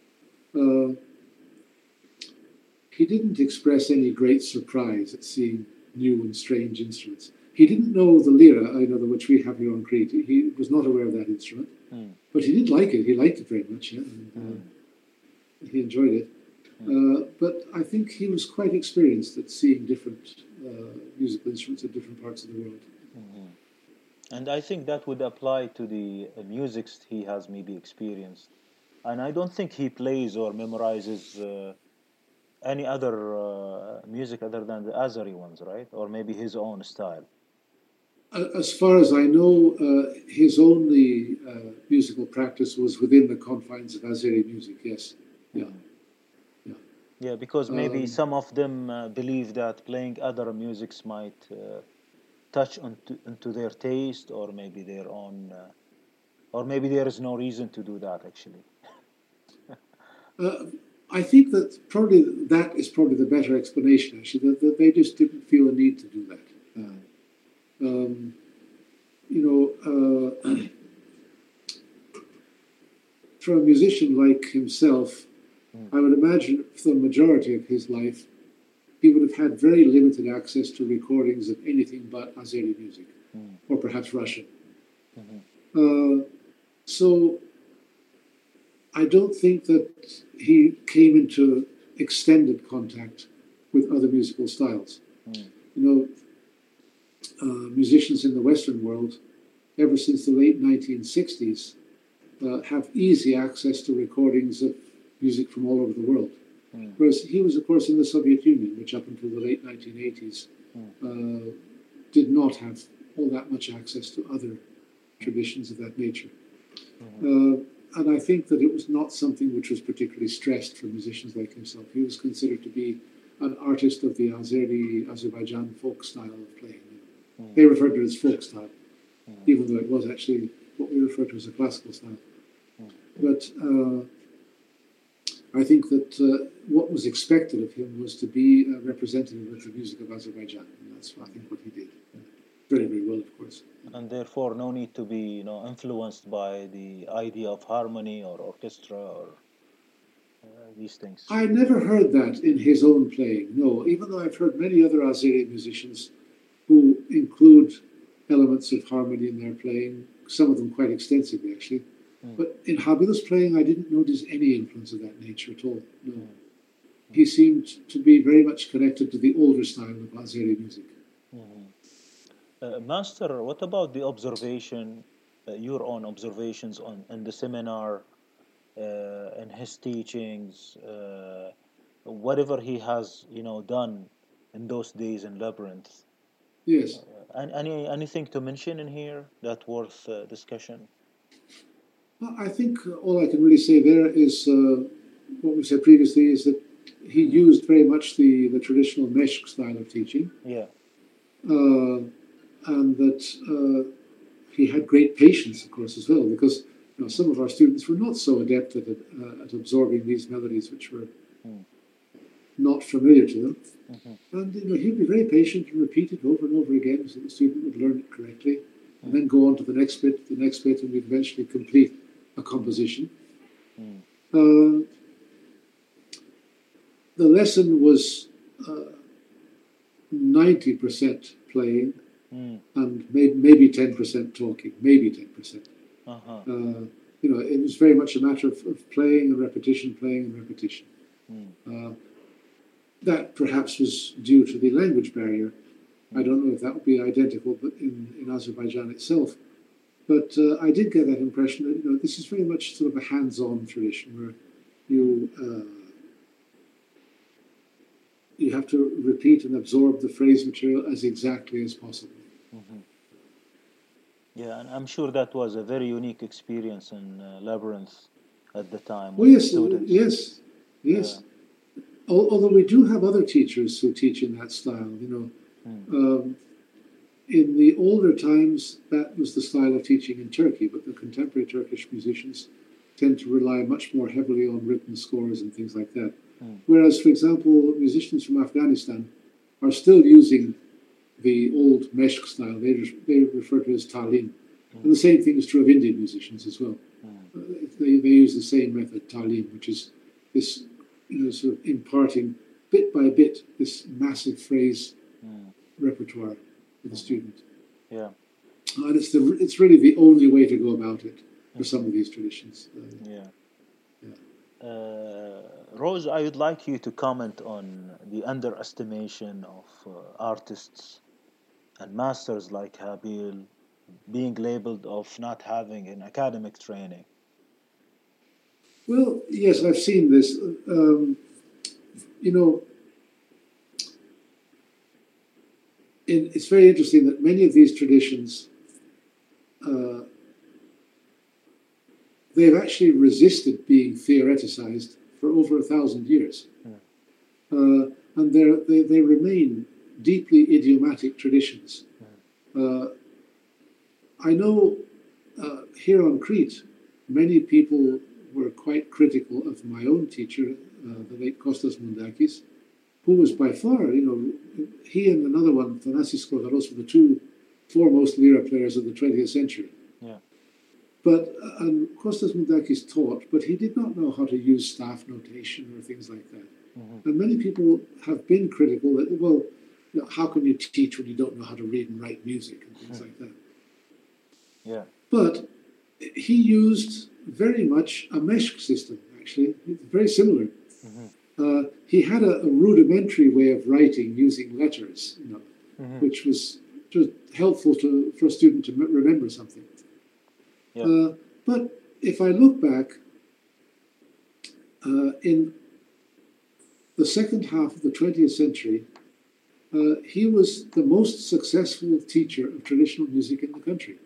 He didn't express any great surprise at seeing new and strange instruments. He didn't know the lira, which we have here on Crete. He was not aware of that instrument. But he did like it. He liked it very much, and he enjoyed it. But I think he was quite experienced at seeing different musical instruments in different parts of the world. And I think that would apply to the music he has maybe experienced. And I don't think he plays or memorizes any other music other than the Azeri ones, right? Or maybe his own style. As far as I know, his only musical practice was within the confines of Azeri music, yes. Yeah, because maybe some of them believe that playing other musics might touch into their taste, or maybe their own, or maybe there is no reason to do that, actually. I think that is probably the better explanation, actually, that they just didn't feel a need to do that. For a musician like himself, I would imagine for the majority of his life, he would have had very limited access to recordings of anything but Azeri music, or perhaps Russian. So I don't think that he came into extended contact with other musical styles. Musicians in the Western world, ever since the late 1960s, have easy access to recordings of music from all over the world. Whereas he was, of course, in the Soviet Union, which up until the late 1980s did not have all that much access to other traditions of that nature. And I think that it was not something which was particularly stressed for musicians like himself. He was considered to be an artist of the Azeri Azerbaijan folk style of playing. They referred to it as folk style, even though it was actually what we refer to as a classical style. But I think that what was expected of him was to be a representative of the music of Azerbaijan, and that's, I think, what he did. Very, very well, of course. And therefore, no need to be, influenced by the idea of harmony or orchestra or these things. I never heard that in his own playing, no, even though I've heard many other Azeri musicians who include elements of harmony in their playing, some of them quite extensively, actually. But in Habil's playing, I didn't notice any influence of that nature at all, no. He seemed to be very much connected to the older style of Azeri music. Master, what about the observation, your own observations in the seminar, and his teachings, whatever he has, done in those days in Labyrinth? Yes. Anything to mention in here that worth discussion? Well, I think all I can really say there is what we said previously is that he used very much the traditional Meshq style of teaching. Yeah. And that he had great patience, of course, as well, because some of our students were not so adept at absorbing these melodies which were not familiar to them. And he'd be very patient and repeat it over and over again so the student would learn it correctly, and then go on to the next bit, and we'd eventually complete a composition. The lesson was 90% playing, and maybe 10% talking, maybe 10%. It was very much a matter of playing and repetition, that perhaps was due to the language barrier. I don't know if that would be identical, but in Azerbaijan itself. But I did get that impression that this is very much sort of a hands-on tradition where you have to repeat and absorb the phrase material as exactly as possible. Yeah, and I'm sure that was a very unique experience in Labyrinth at the time. Oh, yes. Although we do have other teachers who teach in that style, in the older times, that was the style of teaching in Turkey, but the contemporary Turkish musicians tend to rely much more heavily on written scores and things like that. Whereas, for example, musicians from Afghanistan are still using the old Meshq style. They refer to it as talim. And the same thing is true of Indian musicians as well. They use the same method, talim, which is this sort of imparting bit by bit this massive phrase repertoire to the student. Yeah. And it's really the only way to go about it for some of these traditions. Rose, I would like you to comment on the underestimation of artists and masters like Habil being labeled of not having an academic training. Well, yes, I've seen this. It's very interesting that many of these traditions, they've actually resisted being theoreticized for over 1,000 years. And they remain deeply idiomatic traditions. I know here on Crete, many people were quite critical of my own teacher, the late Kostas Mundakis, who was by far, he and another one, Thanasis Kodaros, were the two foremost lira players of the 20th century. Yeah. But Kostas Mundakis taught, but he did not know how to use staff notation or things like that. And many people have been critical that, well, how can you teach when you don't know how to read and write music and things like that? Yeah. But he used very much a Meshq system, actually. It's very similar. He had a rudimentary way of writing using letters, which was just helpful for a student to remember something. Yeah. But if I look back, in the second half of the 20th century, he was the most successful teacher of traditional music in the country.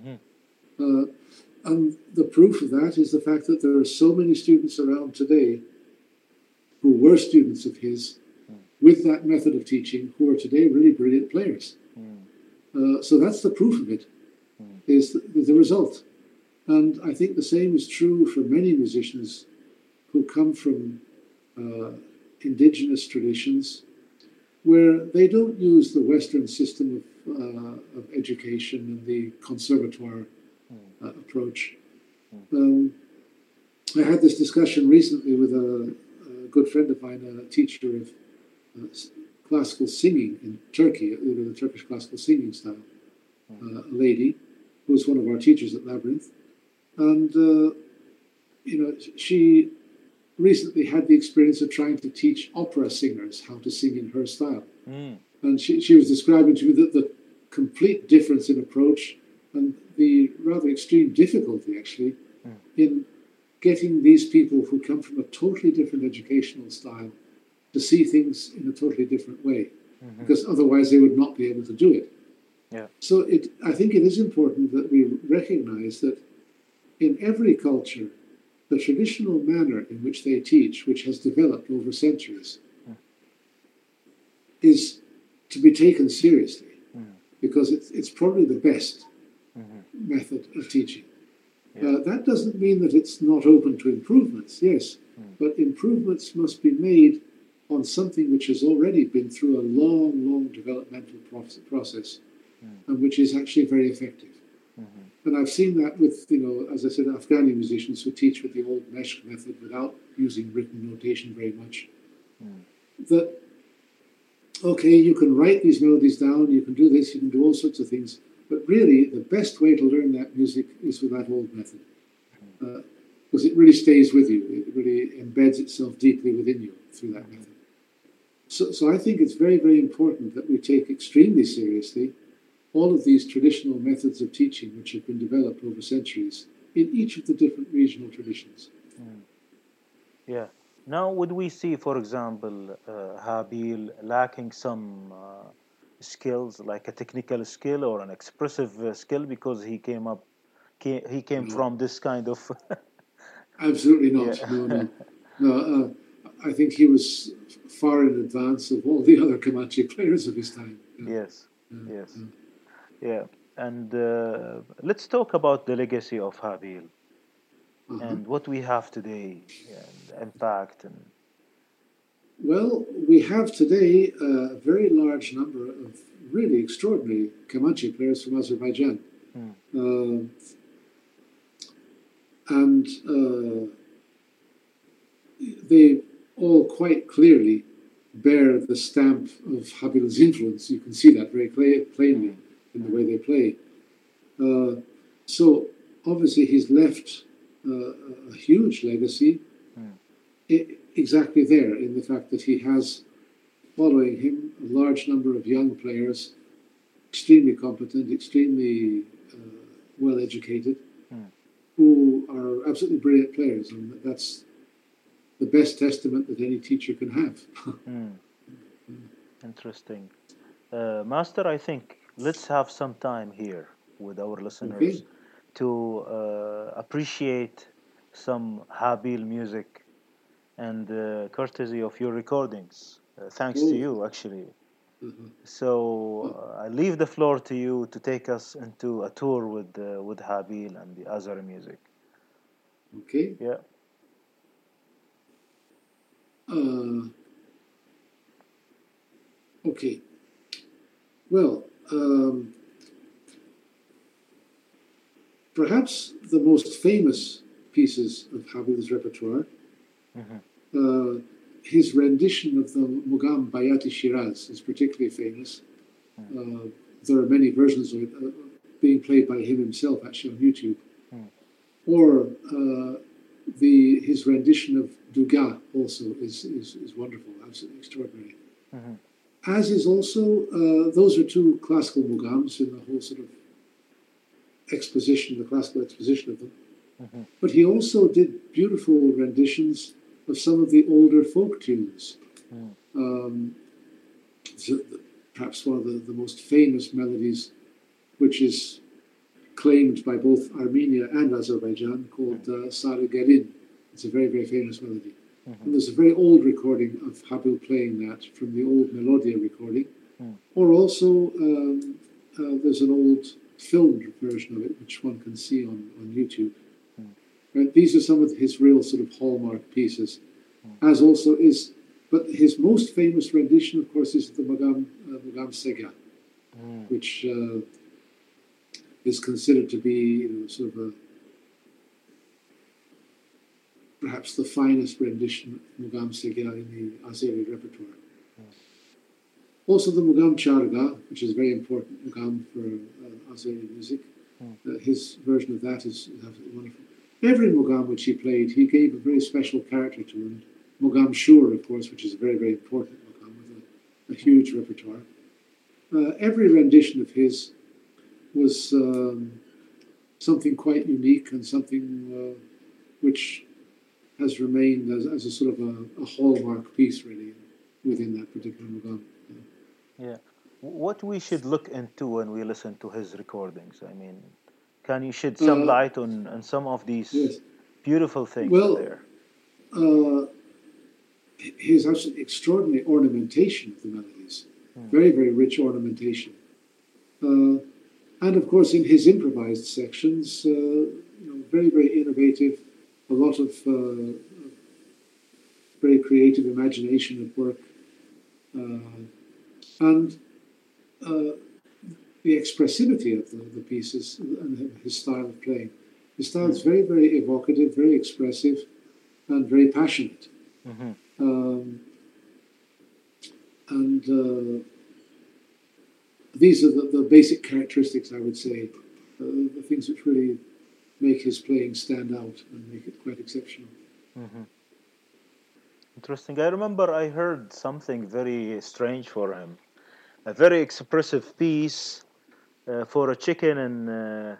And the proof of that is the fact that there are so many students around today who were students of his with that method of teaching who are today really brilliant players. So that's the proof of it, is the result. And I think the same is true for many musicians who come from indigenous traditions where they don't use the Western system of education and the conservatoire approach. I had this discussion recently with a good friend of mine, a teacher of classical singing in Turkey, the Turkish classical singing style, a lady who was one of our teachers at Labyrinth. And, she recently had the experience of trying to teach opera singers how to sing in her style. And she was describing to me the complete difference in approach and the rather extreme difficulty, actually, in getting these people who come from a totally different educational style to see things in a totally different way, because otherwise they would not be able to do it. So I think it is important that we recognize that in every culture, the traditional manner in which they teach, which has developed over centuries, is to be taken seriously, because it's probably the best method of teaching. That doesn't mean that it's not open to improvements, yes, but improvements must be made on something which has already been through a long, long developmental process, and which is actually very effective. And I've seen that with, as I said, Afghani musicians who teach with the old Meshq method without using written notation very much. That, okay, you can write these melodies down, you can do this, you can do all sorts of things, but really the best way to learn that music is with that old method. Because it really stays with you, it really embeds itself deeply within you through that method. So I think it's very, very important that we take extremely seriously all of these traditional methods of teaching which have been developed over centuries in each of the different regional traditions. Yeah. Now, would we see, for example, Habil lacking some skills, like a technical skill or an expressive skill, because he came from this kind of... Absolutely not. No. I think he was far in advance of all the other Comanche players of his time. Yes. Yeah, and let's talk about the legacy of Habil and what we have today, and impact. Well, we have today a very large number of really extraordinary Comanche players from Azerbaijan. And they all quite clearly bear the stamp of Habil's influence. You can see that very plainly in the way they play. So obviously he's left a huge legacy exactly there in the fact that he has following him a large number of young players, extremely competent, extremely well educated, who are absolutely brilliant players, and that's the best testament that any teacher can have. Interesting. Master, I think let's have some time here with our listeners to appreciate some Habil music and courtesy of your recordings. Thanks to you, actually. So I leave the floor to you to take us into a tour with Habil and the Azeri music. Okay. Yeah. Okay. Well, perhaps the most famous pieces of Habil's repertoire, his rendition of the Mugam Bayati Shiraz is particularly famous. There are many versions of it being played by him himself, actually, on YouTube. Or his rendition of Duga also is wonderful, absolutely extraordinary. As is also, those are two classical mugams in the whole sort of exposition, the classical exposition of them. But he also did beautiful renditions of some of the older folk tunes Um, perhaps one of the most famous melodies, which is claimed by both Armenia and Azerbaijan, called Sarı Gelin. It's a very, very famous melody. And there's a very old recording of Habil playing that from the old Melodia recording. Or also, there's an old filmed version of it, which one can see on YouTube. Right? These are some of his real sort of hallmark pieces, as also is, but his most famous rendition, of course, is the Magam Sega, which is considered to be sort of perhaps the finest rendition of Magam Sega in the Azeri repertoire. Also the Mugam Charga, which is very important Mugam for Azeri music. His version of that is absolutely wonderful. Every Mugam which he played, he gave a very special character to him. Mugam Shur, of course, which is a very, very important Mugam with a huge repertoire. Every rendition of his was something quite unique and something which has remained as a sort of a hallmark piece, really, within that particular Mugam. Yeah. What we should look into when we listen to his recordings? I mean, can you shed some light on some of these beautiful things there? His actually extraordinary ornamentation of the melodies, very, very rich ornamentation. And of course, in his improvised sections, very, very innovative, a lot of very creative imagination at work. And the expressivity of the pieces and his style of playing. His style is very, very evocative, very expressive, and very passionate. These are the basic characteristics, I would say, the things which really make his playing stand out and make it quite exceptional. Interesting. I remember I heard something very strange for him. A very expressive piece for a chicken, and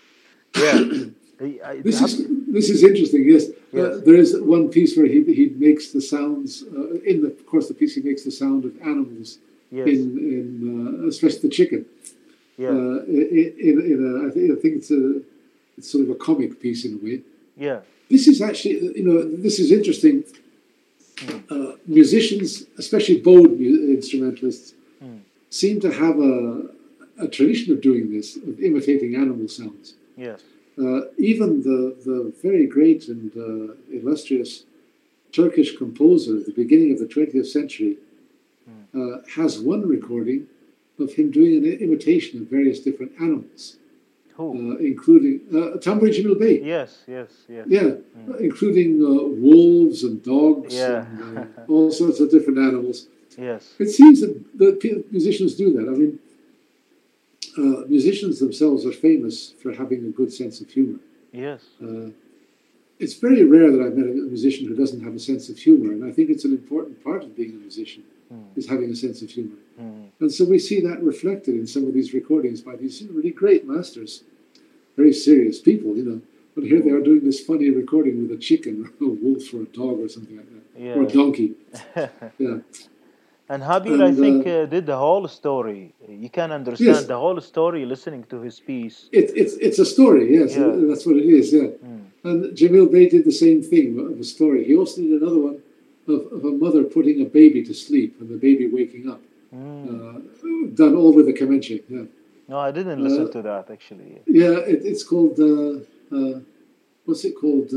this is interesting. Yes, there is one piece where he makes the sounds. Of course, the piece he makes the sound of animals in especially the chicken. Yeah. I think it's sort of a comic piece in a way. Yeah. This is actually this is interesting. Musicians, especially bowed instrumentalists, seem to have a tradition of doing this, of imitating animal sounds. Yes. Even the very great and illustrious Turkish composer at the beginning of the 20th century has one recording of him doing an imitation of various different animals. Including Tamburi Cemil Bey. Yes. Yeah, including wolves and dogs and all sorts of different animals. Yes. It seems that musicians do that. I mean, musicians themselves are famous for having a good sense of humor. Yes. It's very rare that I've met a musician who doesn't have a sense of humor, and I think it's an important part of being a musician, is having a sense of humor. And so we see that reflected in some of these recordings by these really great masters, very serious people, But here they are doing this funny recording with a chicken or a wolf or a dog or something like that, or a donkey. Yeah. And Habil, I think, did the whole story. You can understand the whole story listening to his piece. It's a story, yes. Yeah. That's what it is, yeah. And Cemil Bey did the same thing of a story. He also did another one of a mother putting a baby to sleep and the baby waking up. Done all with the kemençe, yeah. No, I didn't listen to that, actually. Yeah, it's called, what's it called?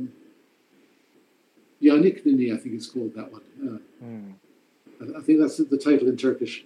Yanik Nini, I think it's called, that one. I think that's the title in Turkish.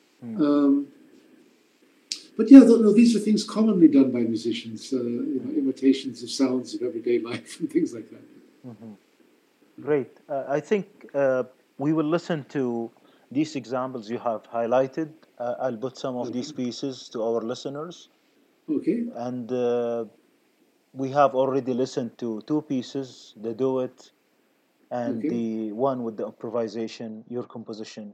But yeah, these are things commonly done by musicians, imitations of sounds of everyday life and things like that. Great. I think we will listen to these examples you have highlighted. I'll put some of these pieces to our listeners. Okay. And we have already listened to two pieces, the duet and the one with the improvisation, your composition.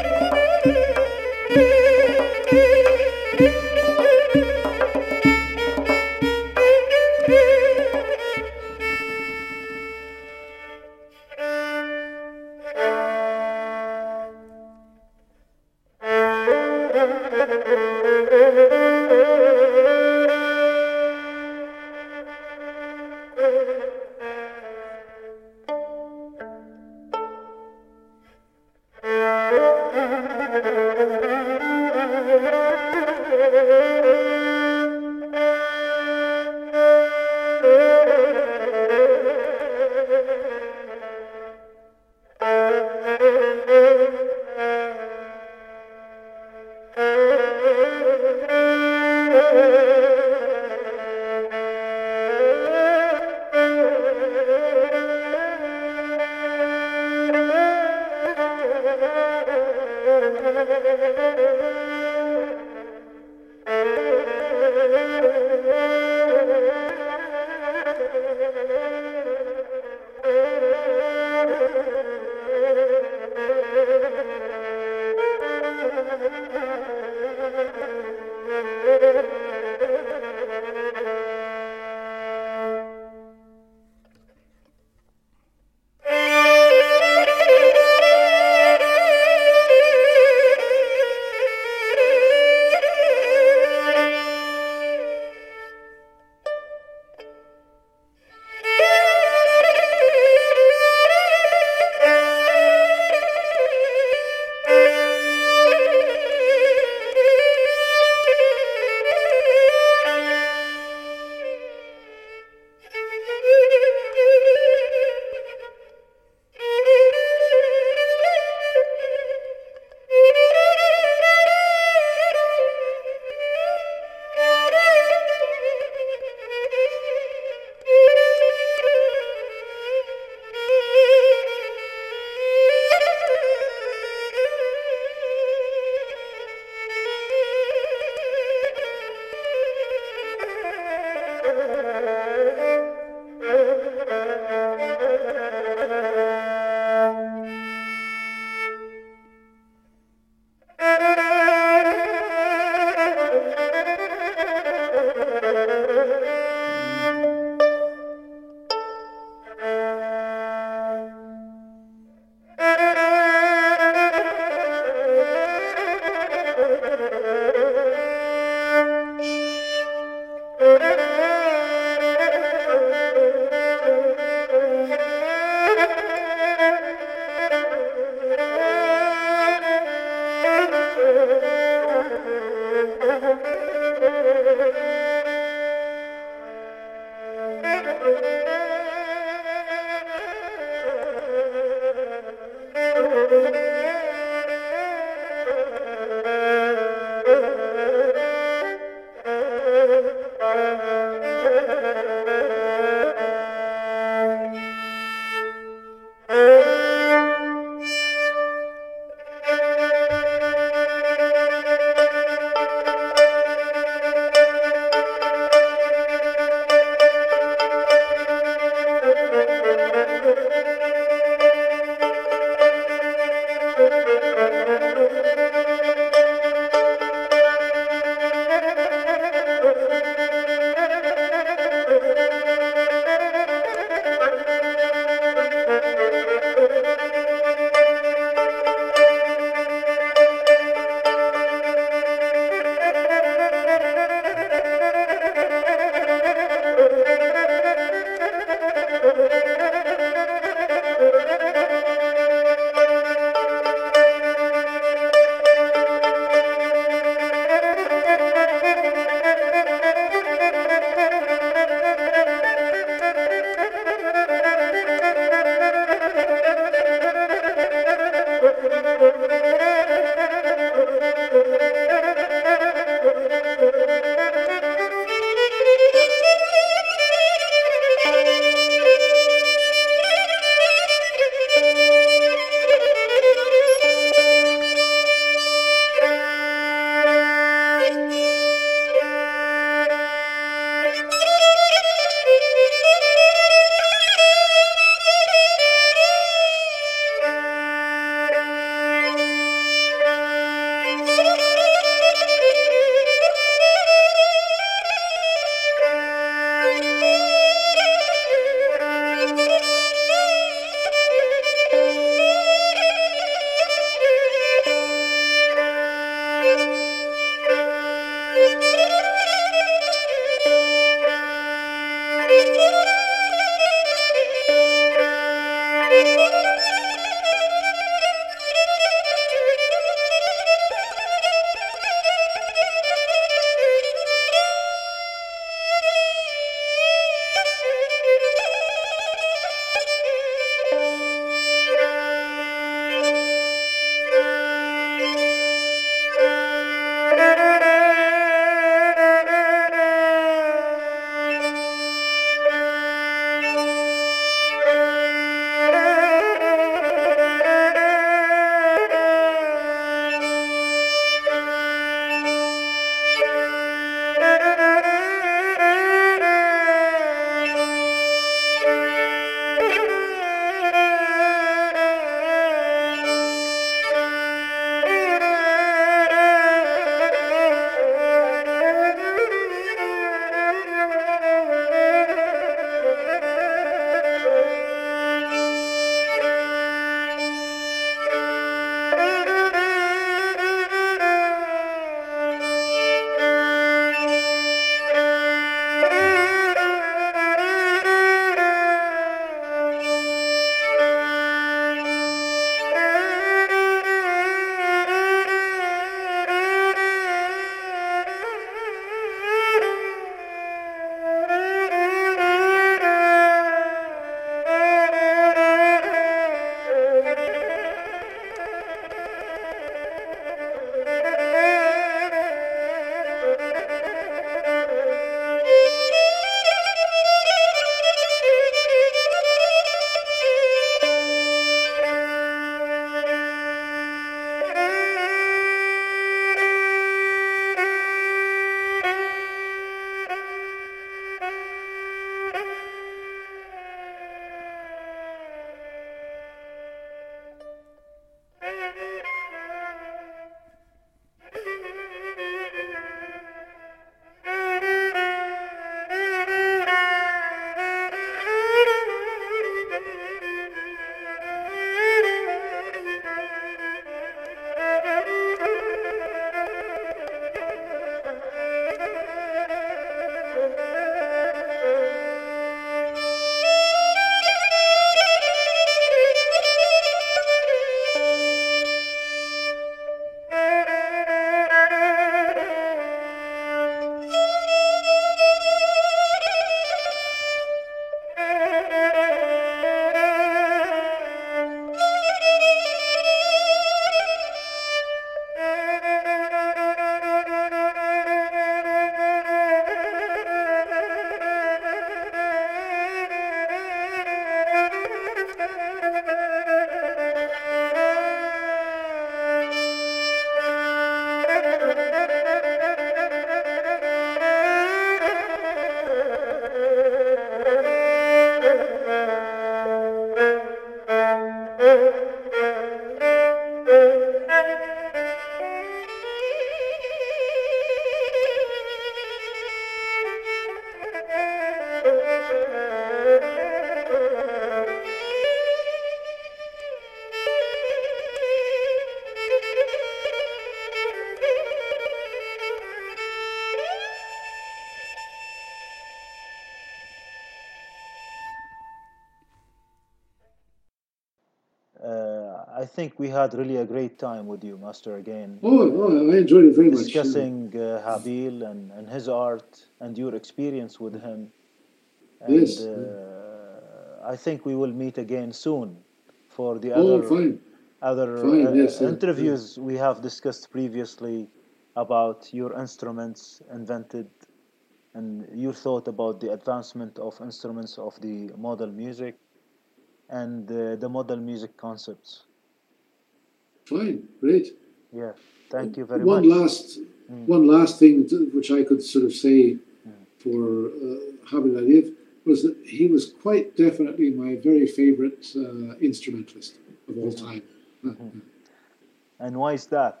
I think we had really a great time with you, Master, again, I enjoyed it very much. discussing Habil and his art and your experience with him. Yes. And I think we will meet again soon for the Fine. other Fine, yes, interviews we have discussed previously about your instruments invented and your thought about the advancement of instruments of the model music and the model music concepts. Fine, great. Yeah, thank you very One much. one last thing which I could sort of say for Habib Arif was that he was quite definitely my very favorite instrumentalist of all time. And why is that?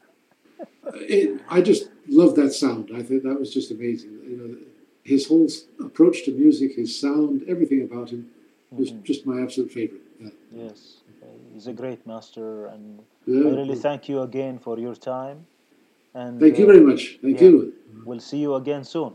I just loved that sound. I think that was just amazing. You know, his whole approach to music, his sound, everything about him was just my absolute favorite. Yes, he's a great master, and Yeah. I really thank you again for your time. And Thank you very much. Thank you. We'll see you again soon.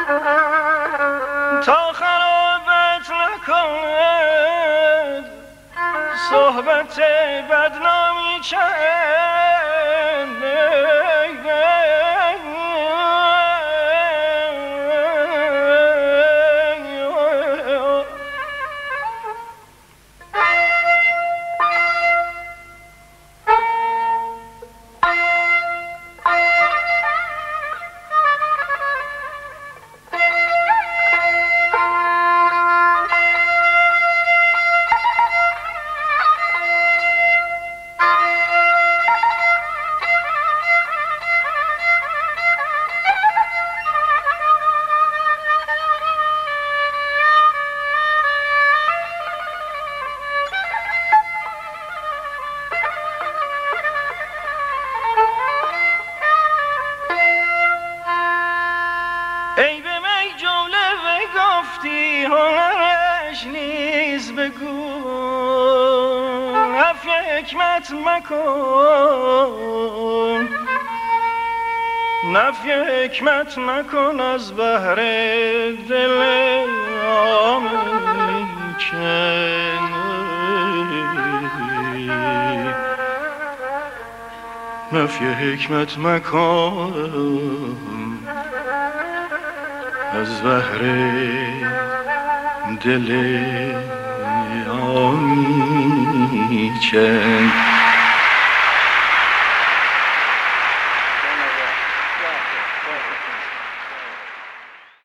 تا خرابت نکند صحبت بدنامی چند ای به می جمله بگفتی هنرش نیز بگو نفی حکمت مکن نفی حکمت مکن از بهر دل آمیکن نفی حکمت مکن از بهر دل آمیکن